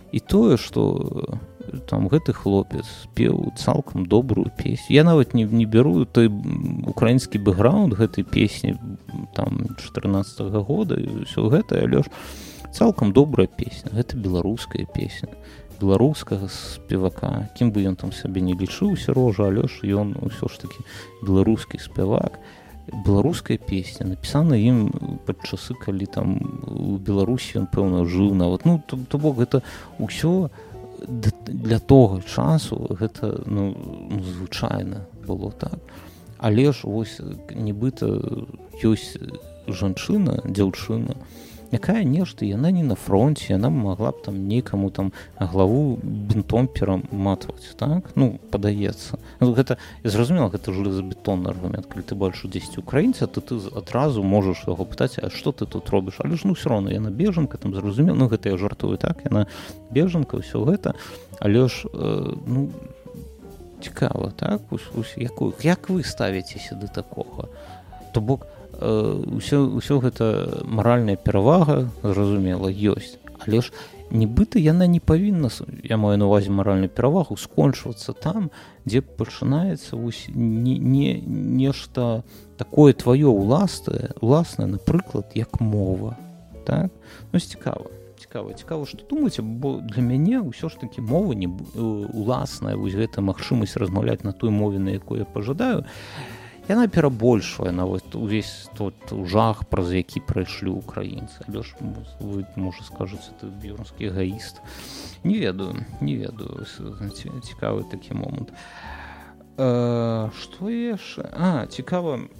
і тое што там гэты хлопец спеў цалкам добрую песню. Я нават не беру той украінскі бэкграунд гэтай песні там 14-го года і ўсё гэта, але ж цалкам добрая песня. Гэта беларуская песня беларускага спевака, кім бы ён там сабе не лічыў Сярожа, але ж ён ўсё ж такі беларускі спевак. Беларуская песня напісана ім пад часы, калі там у Беларусі ён пэўна жыў нават. Ну то бок гэта ўсё для того часу гэта звычайна было так. Але ж вось нібыта ёсць жанчына, дзяўчына, якая нешта, яна не на фронте, яна могла б там некаму там главу бінтом пераматваць, так? Ну, падаецца. Ну, гэта, я зразумела, гэта железабетонны аргумент. Калі ты бачыш 10 украінца, то ты адразу можаш яго пытаць, а што ты тут робіш? Але ж, ну, все равно, яна бежанка, там, зразумела, ну, гэта я жартую, так? Яна бежанка, ўсё гэта. Але ж, ну, цікава, так? Як вы ставіцеся да такога? То бок, ўсё гэта маральная перавага, зразумела, ёсць. Але ж нібыта яна не павінна, я маю на ўвазе маральную перавагу, скончвацца там, дзе пачынаецца нешта такое тваё ўласнае, напрыклад, як мова. Так? Ну, цікава, што думаеце, бо для мяне ўсё ж такі мова уласная, вось гэта магчымасць размаўляць на той мове, на якой я пажадаю, яна перабольшвае нават увесь тот жах, праз які прайшлі ўкраінцы. Але ж вы, можа, скажаце, ты бюрскі эгоіст. Не ведаю. Цікавы такі момант. Што яшчэ? Цікава,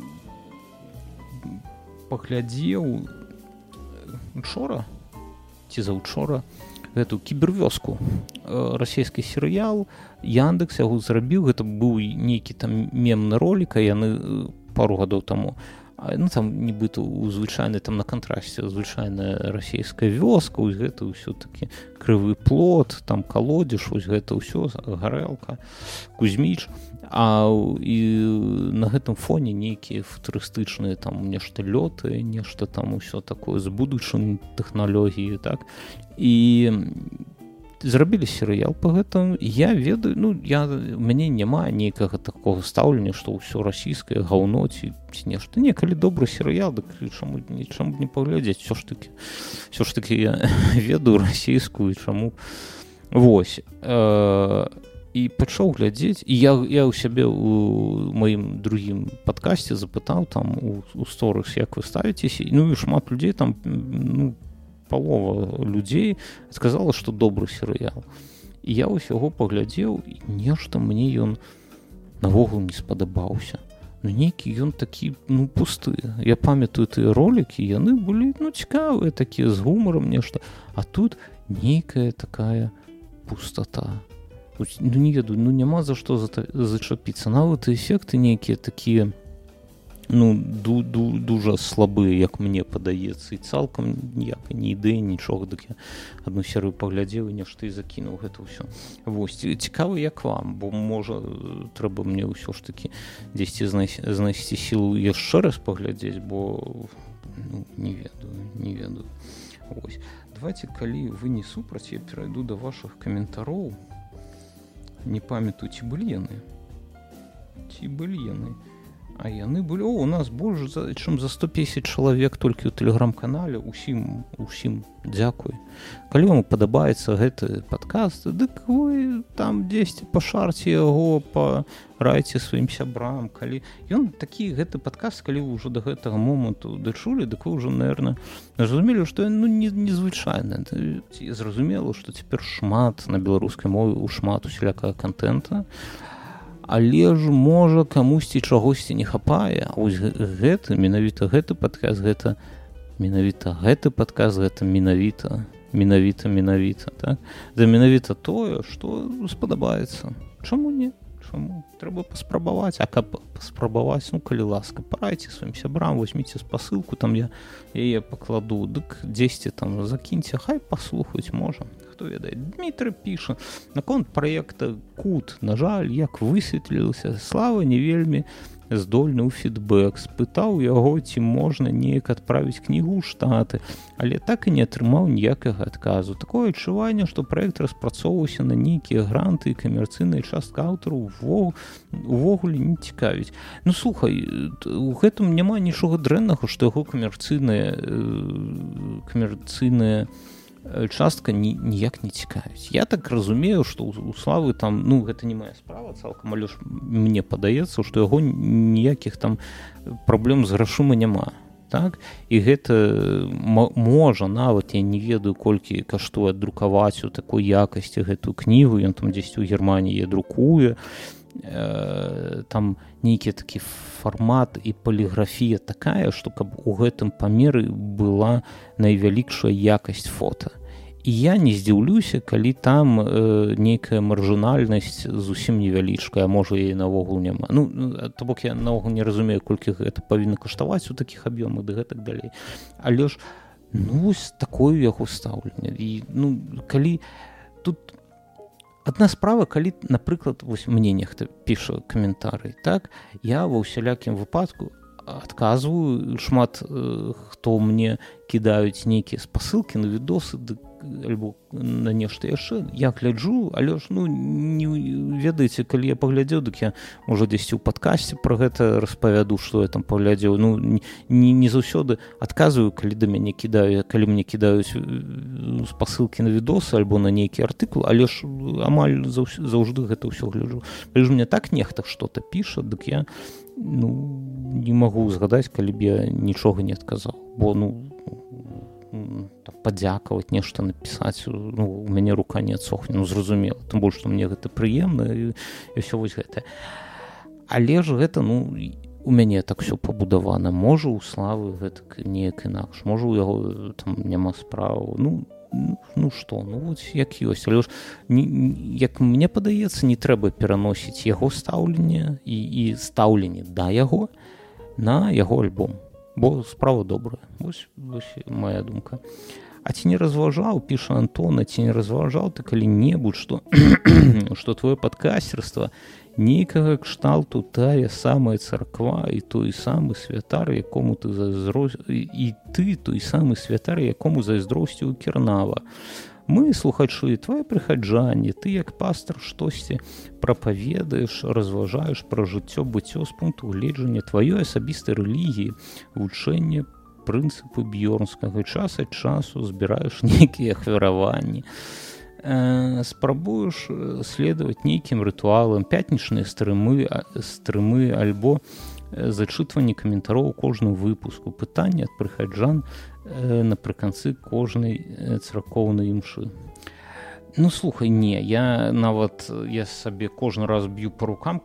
паглядзеў учора ці заўчора гэту кібервёску, расійскі серыял, Яндекс яго зрабіў, гэта быў нейкі там мемны ролік, яны пару гадоў таму, ну там нібыта у звычайнай, там на кантрасце звычайная расійская вёска, вось гэта ўсё такі крывы плот, там калодзеж, вось гэта ўсё, гарэлка, Кузьміч, і на гэтым фоне нейкія футурыстычныя там нешта лёты, нешта там усё такое з будучым тэхналогіі, так, і зрабілі серыял па гэтым. Я ведаю, ну, у мяне няма нейкага такога стаўлення, што ўсё расійскае гаўно ці нешта. Не, калі добры серыял, дык чаму не паглядзець? Всё ж такі я ведаю расійскую, чаму. Вось. І пачаў глядзець, і я ў сябе у маім другім падкасці запытаў там у сторыс, як вы ставіцеся, ну і шмат людзей там, ну, палова людзей сказала, што добры серыял. І я вось яго паглядзеў, і нешта мне ён навогул не спадабаўся. Ну, нейкі ён такі, ну, пусты. Я памятаю тыя ролікі, яны былі, ну, цікавыя такія, з гумарам нешта. А тут нейкая такая пустата. Ну, не ведаю, ну, няма за што зачапіцца. Нават эфекты нейкія такія, ну, дужа слабыя, як мне падаецца, і цалкам ніякай ні ідэі, нічога. Дык я адну серыю паглядзеў і нешта і закінуў гэта ўсё. Вось, цікава, як вам, бо, можа, трэба мне ўсё ж такі дзесьці знайсці сілу яшчэ раз паглядзець, бо, ну, не ведаю. Вось. Давайте, калі вы не супраць, я перайду да вашых каментароў. Не памятаю, ці былі яны. А яны былі, у нас больш, чым за 150 чалавек толькі ў тэлеграм-канале. Усім дзякуй. Калі вам падабаецца гэты падкаст, дык вы там дзесьці пашарце яго, парайце сваім сябрам. Калі ён такі, гэты падкаст, калі вы ўжо да гэтага моманту дачулі, дык вы ўжо, наверное, зразумелі, што ён, ну, незвычайны. Зразумела, што цяпер шмат на беларускай мове, шмат усялякага кантэнта. Але ж, можа, камусьці чагосьці не хапае. А вось менавіта гэты падкаст, гэта менавіта, так? Да менавіта тое, што спадабаецца. Чаму не? Чаму? Трэба паспрабаваць. А каб паспрабаваць, ну, калі ласка, парайце сваім сябрам, возьміце спасылку, там я яе пакладу, дык дзесьці там закіньце, хай паслухаюць, можа. Хто ведае. Дмітрый піша, наконт праекта Кут, на жаль, як высветлілася, слава не вельмі здольны ў фідбэк, спытаў яго, ці можна неяк адправіць кнігу ў Штаты, але так і не атрымаў ніякага адказу. Такое адчуванне, што праект распрацоўваўся на нейкія гранты і камерцыйная частка аўтару увогуле не цікавіць. Ну, слухай, у гэтым няма нічога дрэннага, што яго камерцыйная частка ніяк не цікавіць. Я так разумею, што у Славы там, ну, гэта не моя справа цалкам, але ж мне падаецца, што яго ніякіх там праблем з грашыма няма. Так? І гэта можа нават, я не ведаю, колькі каштуе друкаваць у такой якасці гэтую кнігу, ён там дзесьці ў Германіі друкуе, там нейкі такі фармат і паліграфія такая, што каб у гэтым памеры была найвялікшая якасць фота. І я не здзіўлюся, калі там нейкая маржынальнасць зусім невялічкая, а можа і наогул няма. Ну, то бок я наогул не разумею, колькі гэта павінна каштаваць у такіх аб'ёмах ды гэтак далей. Але ж, ну, вось такое яго стаўленне. І, ну, калі тут адна справа, калі, напрыклад, вось мне нехта піша каментарый, так, я ва ўсялякім выпадку адказваю, шмат хто мне кідаюць нейкія спасылкі на відосы альбо на нешта яшчэ, я гляджу, але ж, ну, не ведаеце, калі я паглядзеў, дык я, можа, дзесьці ў падкасці пра гэта распавяду, што я там паглядзеў. Ну, не заўсёды адказваю, калі да мяне кідаюць, калі мне кідаюць спасылкі на відосы альбо на нейкі артыкул, але ж амаль заўжды гэта ўсё гляджу. Калі ж мне так нехта што-то піша, дык я, ну, не магу згадаць, калі б я нічога не адказаў, бо, ну, падзякаваць, нешта напісаць, ну, у мяне рука не адсохне, ну, зразумела, тым больш, што мне гэта прыемна і ўсё вось гэта. Але ж гэта, ну, у мяне так ўсё пабудавана. Можа, у Славы гэта неяк інакш, можа, у яго там няма справы, ну што, ну вось як ёсць. Але ж, як мне падаецца, не трэба пераносіць яго стаўленне і стаўленне да яго на яго альбом, бо справа добрая. Вось моя думка. А ці не разважаў, піша Антона, ці не разважаў ты калі-небудзь, што твоё падкастерства нейкага кшталту тая самая царква і той самы святар, якому ты той самы святар, якому зайздросціў Кернава. Мы, слухачы, твае прыхаджанне, ты як пастар штосьці прапаведаеш, разважаеш пра жыццё, быццё з пункту гледжання тваёй асабістай рэлігіі, вучэнне прынцыпы бьёрнскага, час ад часу збіраеш нейкія ахвяраванні, спрабуеш следаваць нейкім рытуалам, пятнічныя стрымы альбо зачытванне каментароў у кожным выпуску, пытанне ад прыхаджан напрыканцы кожнай царкоўнай імшы. Ну, слухай, не, я сабе кожны раз б'ю па рукам,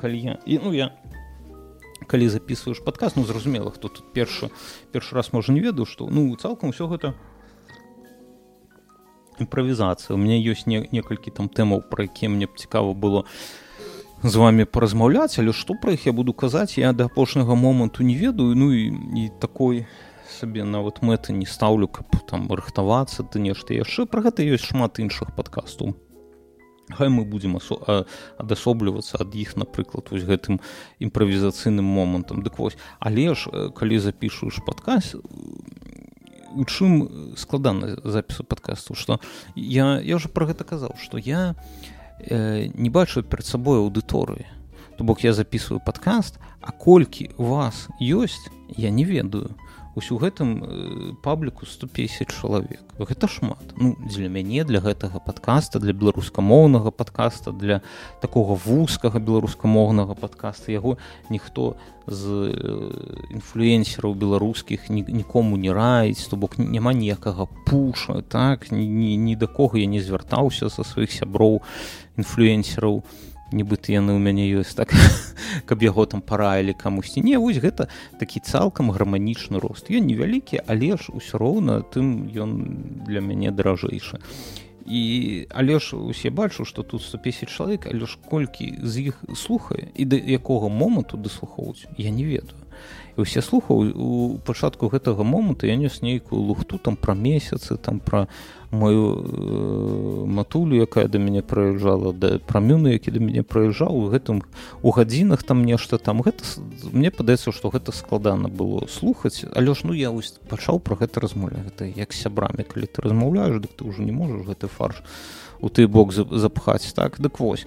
калі записываешь падкаст, ну, зразумела, хто тут першы раз, можа, не ведаў, што, ну, цалкам усё гэта імправізацыя. У мяне ёсць некалькі там тэмаў, пра якія мне б цікава было з вами паразмаўляць, але што пра іх я буду казаць, я да апошняга моманту не ведаю, ну, і такой сабе нават мэты не стаўлю, каб там рыхтавацца ды нешта яшчэ. Пра гэта ёсць шмат іншых падкастаў. Хай мы будзем адасоблівацца ад іх, напрыклад, вось гэтым імправізацыйным момантам. Дык вось, але ж, калі запішуеш падкаст, у чым складана запісу падкасту, што я ўжо пра гэта казаў, што я не бачу перад сабой аўдыторыі. То бок я записываю падкаст, а колькі у вас ёсць, я не ведаю. Вось у гэтым пабліку 150 чалавек. Гэта шмат. Ну, для мяне, для гэтага падкаста, для беларускамоўнага падкаста, для такога вузкага беларускамоўнага падкаста, яго ніхто з інфлюэнсераў беларускіх нікому не раіць, то бок няма ніякага пуша, так? Ні да кого я не звяртаўся са сваіх сяброў інфлюэнсераў, нібыта яны ў мяне ёсць, так, каб яго там параілі камусьці. Не, вось гэта такі цалкам гарманічны рост. Ён невялікі, але ж усё роўна тым ён для мяне даражэйшы. Але ж усе бачу, што тут 150 чалавек, але ж колькі з іх слухае і да якога моманту даслухоўваюць, я не ведаю. і ўсе слухаў у пачатку гэтага моманту я нес нейкую лухту там пра месяцы, там пра мою матулю, якая да мяне прыязджала, пра мюну, які да мяне прыязджаў, у гадзінах там нешта там. Гэта, мне падаецца, што гэта складана было слухаць, але ж я пачаў пра гэта размаўляць. Гэта як з сябрамі, калі ты размаўляеш, дык ты ўжо не можаш гэты фарш у той бок запхаць, так? Дык вось.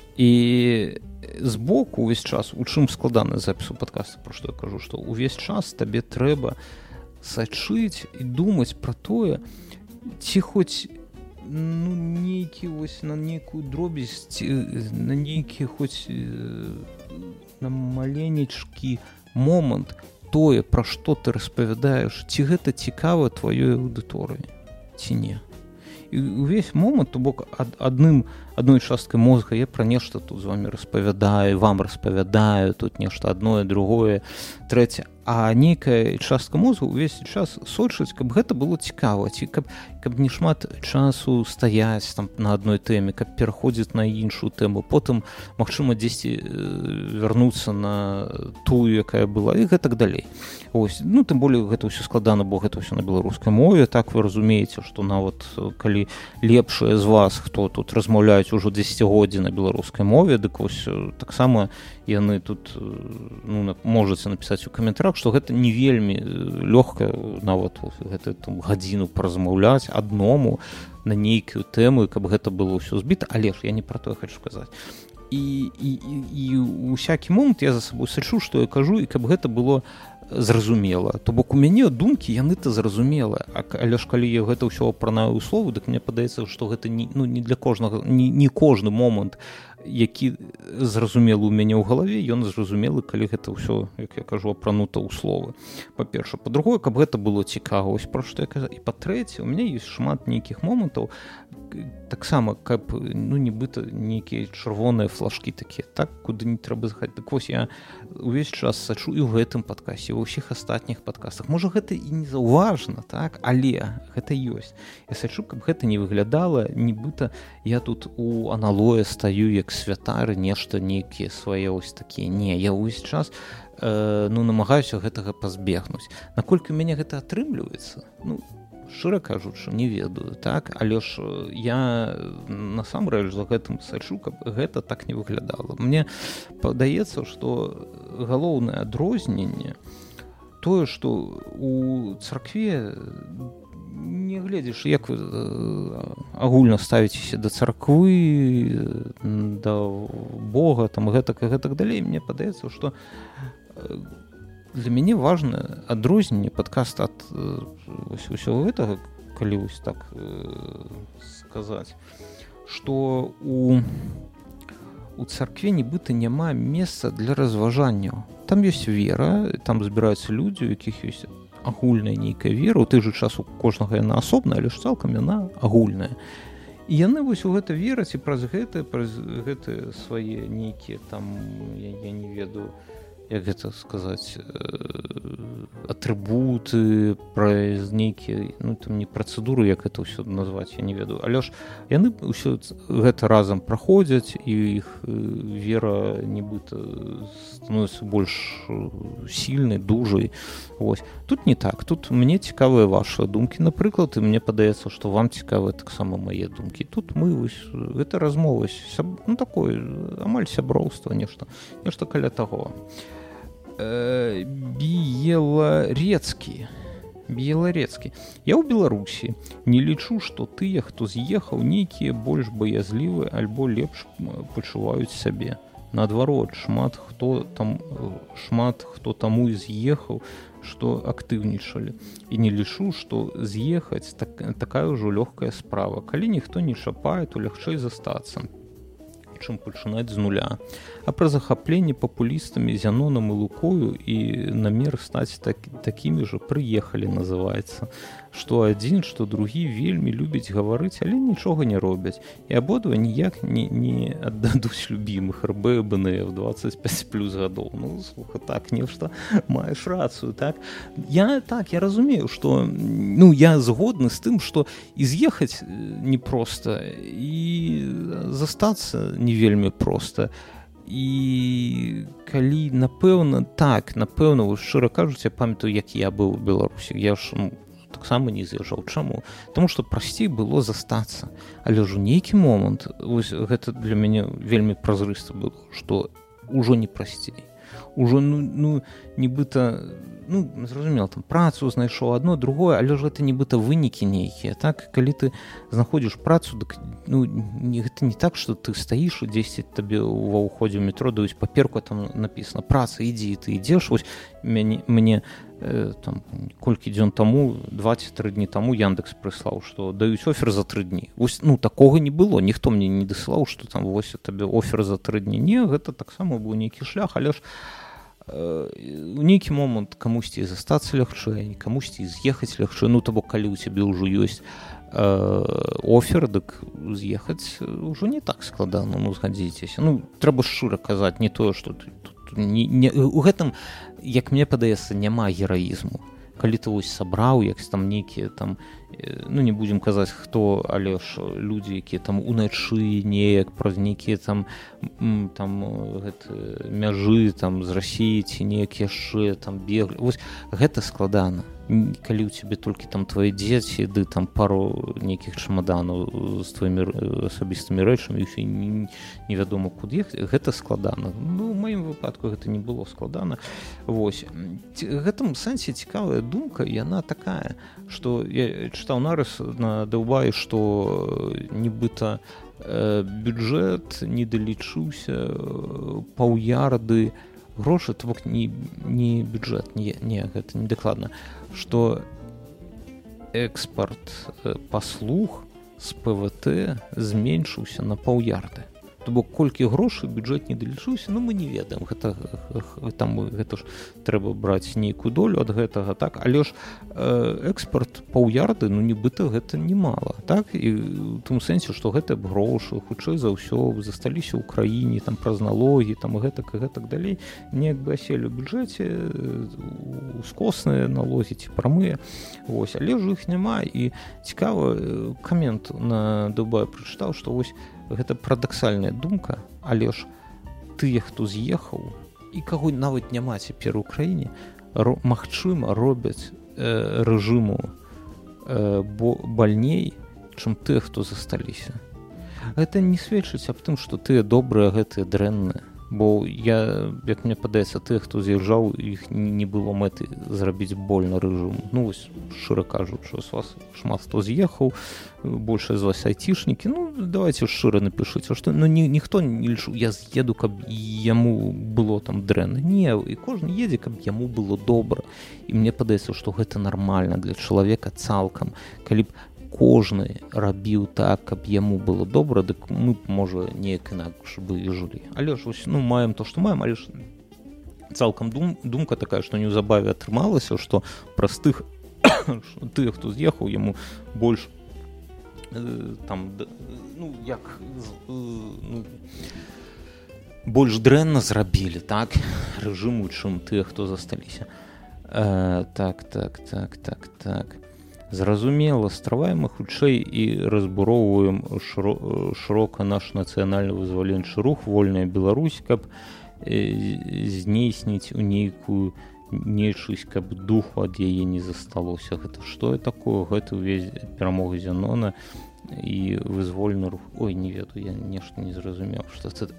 І збоку увесь час, у чым складана запісу падкаста, пра што я кажу, што увесь час табе трэба сачыць і думаць пра тое, ці хоць нейкі вось на нейкую дробязь, на нейкі хоць на маленечкі момант тое, пра што ты распавядаеш, ці гэта цікава тваёй аўдыторыі, ці не. І увесь момант, то бок адной часткай мозга я пра нешта тут з вамі распавядаю, вам распавядаю, тут нешта адное, другое, трэцяе, а нейкая частка мозгу увесь час сочыць, каб гэта было цікава, ці каб не шмат часу стаяць там на адной тэме, каб пераходзіць на іншую тэму, потым, магчыма, дзесьці вярнуцца на тую, якая была, і гэтак далей. Ось, тым болей гэта ўсё складана, бо гэта ўсё на беларускай мове, так вы разумееце, што нават калі лепшыя з вас, хто тут размаўляюць ужо 10годдзі на беларускай мове, дык вось таксама яны тут можаце напісаць у каментарах, што гэта не вельмі лёгка нават гэта гадзіну паразмаўляць адному на нейкую тэму, каб гэта было ўсё збіта, але ж я не пра тое хочу сказаць. І у всякі момант я за сабой сачу, што я кажу, і каб гэта было зразумела. То бок у мяне думкі яны-то зразумела, але ж калі я гэта ўсё апранаю ў словы, дык мне падаецца, што гэта не для кожнага, не кожны момант, які зразумелы ў мяне ў галаве, ён зразумелы, калі гэта ўсё, як я кажу, апранута ў словы. Па-першае, па-другое, каб гэта было цікава, ось пра што я казаў. І па-трэцяе, у мяне ёсць шмат нейкіх момантаў, таксама, каб, нібыта нейкія чырвоныя флажкі такія, так, куды не трэба заходзіць. Так вось я увесь час сачу і ў гэтым падкасці, ва ўсіх астатніх падкастах. Можа, гэта і не заўважна, так, але гэта ёсць. Я сачу, каб гэта не выглядала, нібыта я тут у аналое стаю, як святары, нешта нейкія свае ось такія. Не, я ўвесь час намагаюся гэтага пазбегнуць. Наколькі ў мяне гэта атрымліваецца? Шчыра кажучы, не ведаю, так? Але ж я насамрэч за гэтым сачу, каб гэта так не выглядала. Мне падаецца, што галоўнае адрозненне тое, што у царкве не гледзіш, як вы агульна ставіцеся да царквы, да Бога, там гэтак і гэтак далей. Мне падаецца, што для мяне важна адрозненне падкаста ад усяго гэтага, калі вось так сказаць, што у царкве нібыта няма месца для разважанняў. Там ёсць вера, там збіраюцца людзі, у якіх ёсць агульная нейкая вера, у той жа час у кожнага яна асобная, але ж цалкам яна агульная. І яны вось у гэта вераць і праз гэтыя свае нейкія там, я не ведаю, як гэта сказаць, атрыбуты, праз нейкія, там не працэдуры, як гэта ўсё назваць, я не ведаю. Але ж яны ўсё гэта разам праходзяць, і іх вера нібыта становіцца больш сільнай, дужай. Вось. Тут не так. Тут мне цікавыя вашыя думкі, напрыклад, і мне падаецца, што вам цікавыя таксама мае думкі. Тут мы вось, гэта размова, такое, амаль сяброўства, нешта каля таго. Беларецкі. Я ў Беларусі не лічу, што тыя, хто з'ехаў, нейкія больш баязлівыя альбо лепш пачуваюць сябе. Наадварот, шмат хто таму і з'ехаў, што актыўнічалі. І не лічу, што з'ехаць такая ўжо лёгкая справа. Калі ніхто не чапае, то лягчэй застацца, чым пачынаць з нуля. А пра захапленне папулістамі Зянонам і Лукою і намер стаць такімі ж прыехалі, называецца. Што адзін, што другі вельмі любяць гаварыць, але нічога не робяць. І абодва ніяк не аддадуць любімых РБ-БНФ 25+ гадоў. Слухай, так, нешта маеш рацыю, так? Я разумею, што я згодны з тым, што і з'ехаць непроста, і застацца не вельмі проста. і калі напэўна шчыра кажуць, я памятаю, як я быў у Беларусі, я ж таксама не з'язджаў. Чаму? Таму што прасцей было застацца, але ж у нейкі момант вось гэта для мяне вельмі празрыста было, што ўжо не прасцей, ужо нібыта зразумела, там працу знайшоў адно, другое, але ж гэта нібыта вынікі нейкія, так? Калі ты знаходзіш працу, дык гэта не так, што ты стаіш і дзесьці табе ва ўходзе ў метро даюць паперку, там напісана праца, ідзі, ты ідзеш. Вось мне там колькі дзён таму, 2-3 дні таму Яндекс прыслаў, што даюць офер за 3 дні. Вось такога не было, ніхто мне не дасылаў, што там вось табе офер за 3 дні. Не, гэта таксама быў нейкі шлях, але ж у нейкі момант камусьці застацца лягчэй, камусьці з'ехаць лягчэй. То бок калі ў цябе ўжо ёсць офер, дык з'ехаць ўжо не так складана, згадзіцеся. Трэба шчыра казаць, не тое, што у гэтым, як мне падаецца, няма гераізму. Калі ты вось сабраў, як там нейкія там, не будзем казаць хто, але ж людзі, якія там уначы неяк праз нейкія там мяжы там з Расіі ці неяк яшчэ там беглі. Вось гэта складана. Калі ў цябе толькі там твае дзеці, ды там пару нейкіх чамаданаў з тваімі асабістымі рэчамі, і ўсё невядома куды ехаць, гэта складана. У маім выпадку гэта не было складана. Вось. Гэтым сэнсе цікавая думка, яна такая, што я чытаў нарыс на Даўбаі, што нібыта бюджэт не далічыўся паўярды грошы, то бок не бюджэт, не, гэта не дакладна, што экспарт паслуг з ПВТ зменшыўся на паўярды. То бок колькі грошай бюджэт не далічыўся, мы не ведаем, гэта ж трэба браць нейкую долю ад гэтага, так, але ж экспарт паўярды, нібыта гэта немала, так, і ў тым сэнсе, што гэта грошы хутчэй за ўсё засталіся ў краіне там праз налогі, там гэтак далей, неяк бы аселі ў бюджэце ускосныя налогі ці прамыя, вось, але ж іх няма. І цікава, камент на Дубае прачытаў, што вось гэта парадаксальная думка, але ж тыя, хто з'ехаў і каго нават няма цяпер у краіне, магчыма, робяць рэжыму бальней, чым тыя, хто засталіся. Гэта не сведчыць аб тым, што тыя добрыя, гэтыя дрэнныя. Бо як мне падаецца, тыя, хто з'язджаў, іх не было мэты зрабіць больна рэжыму. Вось, шчыра кажучы, з вас шмат хто з'ехаў, большая з вас айцішнікі, давайте шчыра напішыце, што ніхто не лічыў, я з'еду, каб яму было там дрэнна. Не, і кожны едзе, каб яму было добра. І мне падаецца, што гэта нармальна для чалавека цалкам. Калі б кожны рабіў так, каб яму было добра, дык мы, можа, неяк інакш бы і жылі. Але ж, маем то, што маем, але ж цалкам думка такая, што неўзабаве атрымалася, што праз тых, хто з'ехаў, яму больш больш дрэнна зрабілі, так, рэжыму, чым тыя, хто засталіся. Так. Зразумела, страваем мы хутчэй і разбуроўваем шырока наш нацыянальна-вызваленчы рух «Вольная Беларусь», каб знейсніць у нейкую нечысць, каб духу ад яе не засталося. Гэта што такое? Гэта ўвесь перамога Зянона і вызвольны рух. Ой, не ведаю, я нешта не зразумеў, што це.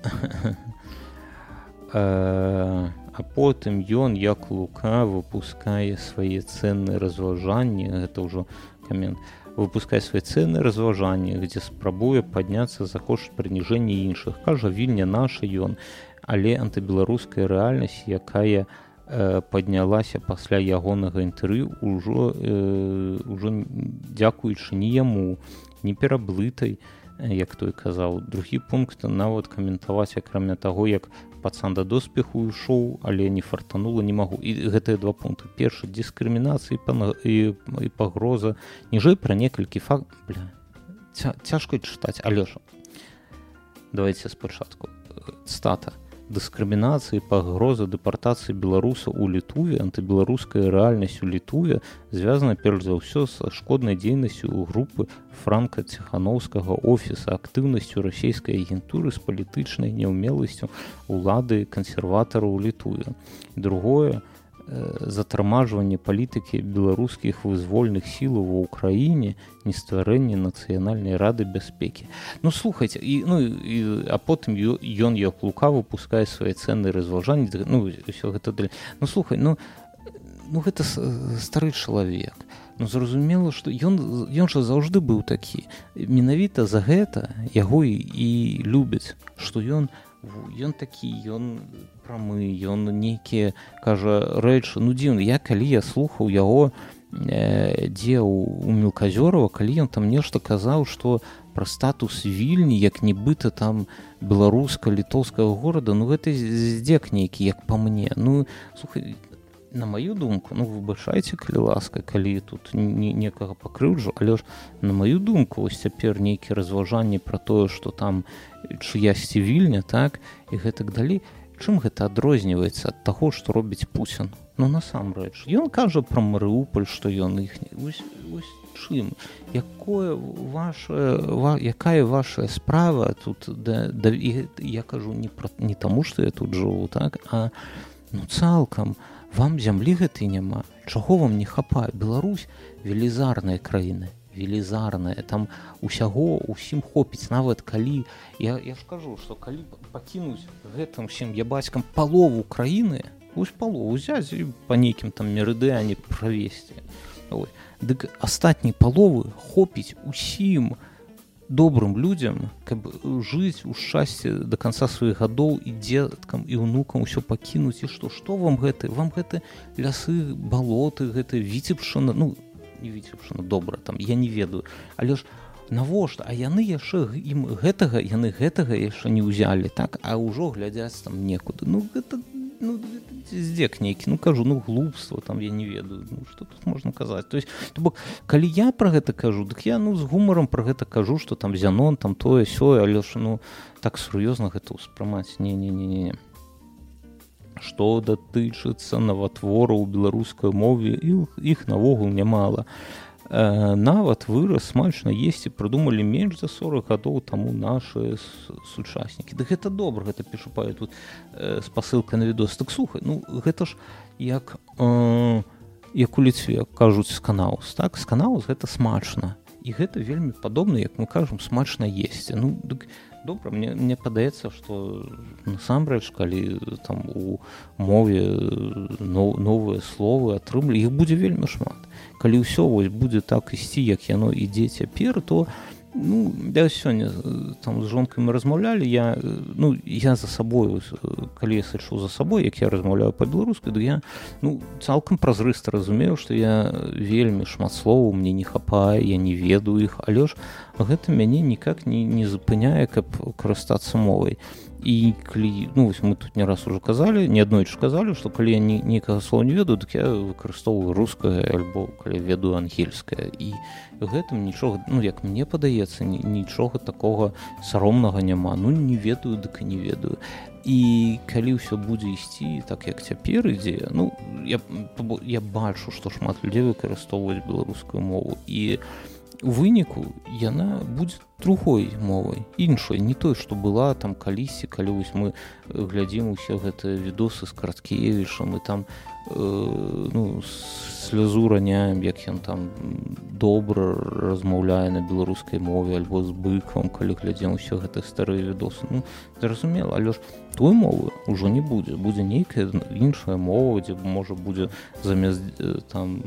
А потым ён, як Лука, выпускае свае цэнныя разважанні, гэта ўжо камент, выпускае свае цэнныя разважанні, дзе спрабуе падняцца за кошт прыніжэння іншых. Кажа, Вільня наша ён, але антыбеларуская рэальнасць, якая паднялася пасля ягонага інтэрв'ю, ўжо дзякуючы не яму, не пераблытай, як той казаў. Другі пункт, нават каментаваць, акрамя таго, як пацан да доспеху ішоў, але не фартанула, не магу. І гэтыя два пункты. Першы, дыскрымінацыя і пагроза. Ніжэй пра некалькі фактаў. Цяжка чытаць, але ж. Давайце спачатку. Цытата. дыскрымінацыі, пагроза дэпартацыі беларусаў у Літуве, антыбеларуская рэальнасць у Літуве звязана перш за ўсё са шкоднай дзейнасцю ў групы франка-ціханаўскага офіса, актыўнасцю расійскай агентуры з палітычнай няўмеласцю улады кансерватараў у Літуве. Другое, затрымажванне палітыкі беларускіх вызвольных сілаў ва ўкраіне, нестварэнне нацыянальнай рады бяспекі. Ну слухайце, а потым ён як лука выпускае свае цэнныя разважанні, ўсё гэта далей. Ну слухай, гэта стары чалавек. Ну зразумела, што ён жа заўжды быў такі. Менавіта за гэта яго і любяць, што ён такі, ён прамы, ён нейкія, кажа, рэчы, дзіўна. Калі я слухаў яго дзе у Мелказёрава, калі ён там нешта казаў, што пра статус Вільні, як нібыта там беларуска-літоўскага горада, гэта здзек нейкі, як па мне. Слухай, на маю думку, выбачайце, калі ласка, калі тут некага пакрыўджу, але ж на маю думку, вось цяпер нейкія разважанні пра тое, што там чыясьці Вільня, так, і гэтак далей. Чым гэта адрозніваецца ад таго, што робіць Пуцін? Насамрэч, ён кажа пра Марыуполь, што ён іхні. Вось чым? Якая ваша справа тут? Я кажу не таму, што я тут жыву, так, а цалкам. Вам зямлі гэтай няма. Чаго вам не хапае? Беларусь велізарная краіна. Велізарная. Там усім хопіць. Нават калі... Я ж кажу, што калі пакінуць гэтым всім ябацькам палову краіны, вось палову взяць і па нейкім там мерыдыяне правесці. Дык астатняй паловы хопіць усім добрым людзям, каб жыць у шчасці да канца сваіх гадоў і дзеткам і ўнукам усё пакінуць. І што вам гэта? Вам гэта лясы, балоты, гэта Віцебшчына, не Віцебшчына, добра, там, я не ведаю. Але ж навошта? А яны яшчэ гэтага яшчэ не ўзялі, так? А ўжо глядзяць там некуды. Гэта здзек нейкі, кажу, глупства, там я не ведаю, што тут можна казаць. То есть, калі я пра гэта кажу, дык я з гумарам пра гэта кажу, што там Зянон, там тое, сёе, але ж так сур'ёзна гэта ўспрымаць. Не. Што датычыцца наватвораў у беларускай мове, іх навогул нямала. Нават выраз смачна есці прыдумалі менш за 40 гадоў таму нашы сучаснікі. Дык гэта добра, гэта пішу тут спасылка на відос. Так слухай, гэта ж як у Ліцве кажуць сканаус, так? Сканаус гэта смачна. І гэта вельмі падобна, як мы кажам, смачна есці. Дык добра, мне падаецца, што насамрэч, калі там у мове новыя словы атрымлі, іх будзе вельмі шмат. Калі ўсё будзе так ісці, як яно ідзе цяпер, то я сёння там з жонкай мы размаўлялі, я за сабою, калі я сачу за сабой, як я размаўляю па-беларуску, то я цалкам празрыста разумею, што я вельмі шмат словаў мне не хапае, я не ведаю іх, але ж гэта мяне ніяк не запыняе, каб карыстацца мовай. І калі, мы тут не раз ужо казалі, не аднойчы казалі, што калі я нейкага слова не ведаю, дык я выкарыстоўваю рускае альбо калі ведаю ангельскае. І гэтым нічога, як мне падаецца, нічога такога саромнага няма. Не ведаю, дык і не ведаю. І калі ўсё будзе ісці так, як цяпер ідзе, я бачу, што шмат людзей выкарыстоўваюць беларускую мову. І у выніку яна будзе другой мовай, іншай, не той, што была там калісьці, калі вось мы глядзім усе гэтыя відосы з Караткевічам і там слязу раняем, як ён там добра размаўляе на беларускай мове альбо з быкам, калі глядзім усе гэтыя старыя відосы. Зразумела, але ж той мовы ўжо не будзе. Будзе нейкая іншая мова, дзе можа будзе замест там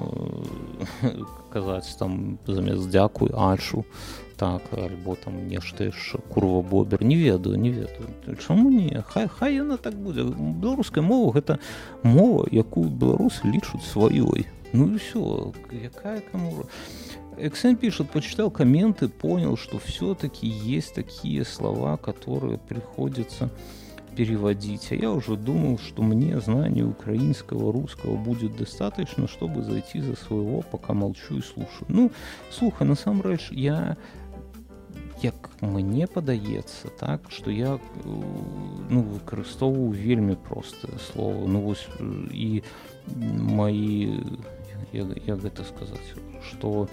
казаць там замест дзякуй ачу, так, альбо там нешта яшчэ курва бобер, не ведаю. Чаму не? Хай яна так будзе. Беларуская мова гэта мова, якую беларусы лічуць сваёй. И все, якая кому... Эксен пишет, почитал комменты, понял, что все-таки есть такие слова, которые приходится переводить. А я уже думал, что мне знания украинского, русского будет достаточно, чтобы зайти за своего, пока молчу и слушаю. Слухай, насамрэч, я як мне падаецца, так, што я выкарыстоўваю вельмі простыя словы. І мои, як гэта сказаць, што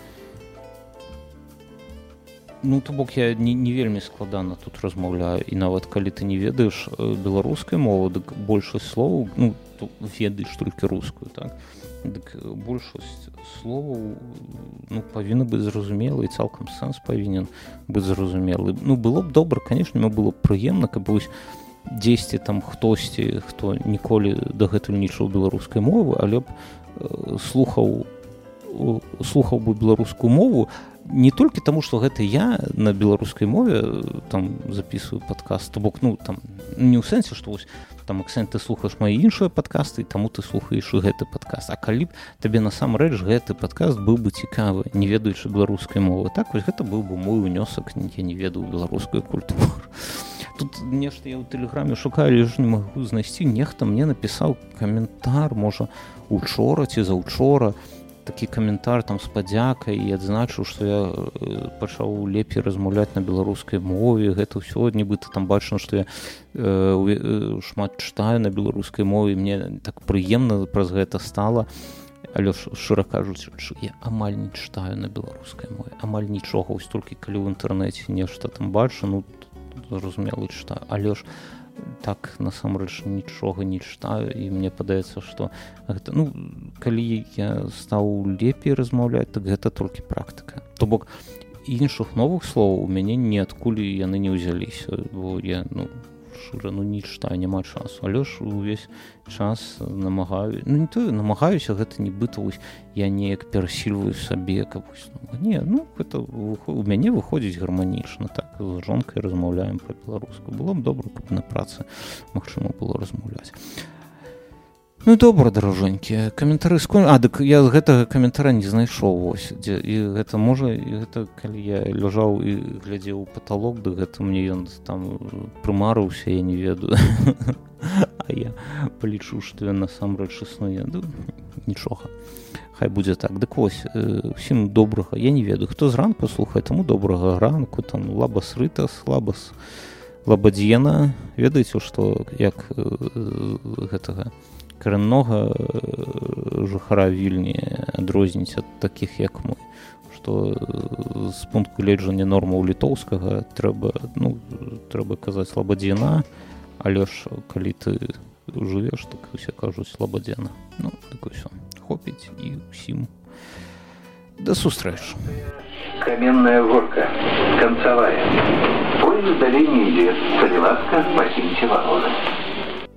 то бок я не вельмі складана тут размаўляю, і нават калі ты не ведаеш беларускай мовы, дык большасць словаў, ведаеш толькі рускую, так, дык большасць словаў павінна быць зразумела, і цалкам сэнс павінен быць зразумелы. Было б добра, канешне, было б прыемна, каб вось дзесьці там хтосьці, хто ніколі дагэтуль не чуў беларускай мовы, але б слухаў бы беларускую мову не толькі таму, што гэта я на беларускай мове там записываю падкаст, то бок, там не ў сэнсе, што вось там акцэнт ты слухаеш мае іншыя падкасты, і таму ты слухаеш і гэты падкаст. А калі б табе насамрэч гэты падкаст быў бы цікавы, не ведаючы беларускай мовы, так вось гэта быў бы мой унёсак, я не ведаю беларускую культуру. Тут нешта я ў тэлеграме шукаю, але ж не магу знайсці. Нехта мне напісаў каментар, можа, учора ці заўчора, такі каментар там з падзякай, і адзначыў, што я пачаў лепей размаўляць на беларускай мове. Гэта ўсё нібыта там бачна, што я шмат чытаю на беларускай мове, мне так прыемна праз гэта стала. Але шчыра кажучы, я амаль не чытаю на беларускай мове, амаль нічога, вось толькі калі ў інтэрнэце нешта там бачу, зразумела, чытаю, але ж так насамрэч нічога не чытаю, і мне падаецца, што гэта, калі я стаў лепей размаўляць, так гэта толькі практыка. То бок іншых новых словаў у мяне ніадкуль яны не ўзяліся, бо я шчыра не чытаю, няма часу, але ж увесь час намагаюся, не тое намагаюся, гэта нібыта я неяк перасільваю сабе, каб гэта у мяне выходзіць гарманічна, так, з жонкай размаўляем па-беларуску. Было б добра, каб на працы магчыма было размаўляць. Добра, даражонькі, каментары дык я з гэтага каментара не знайшоў, вось, і гэта можа, калі я ляжаў і глядзеў у паталок, дык гэта мне ён там прымарыўся, я не ведаю, а я палічу, што ён насамрэч існуе, нічога, хай будзе так. Дык вось, усім добрага, я не ведаю, хто зранку слухае, таму добрага ранку, там, лабас рытас, лабас лабадзена, ведаеце, што як гэтага карэннога жыхара Вільні адрозніць ад такіх, як мы, што з пункту гледжання нормаў літоўскага трэба казаць лабадзена, але ж калі ты жывеш, так усе кажуць лабадзена. Так усё, хопіць, і ўсім да сустрэчы. Каменная горка, концевая. Поезд далее не идет. Солилавка, покиньте вагоны.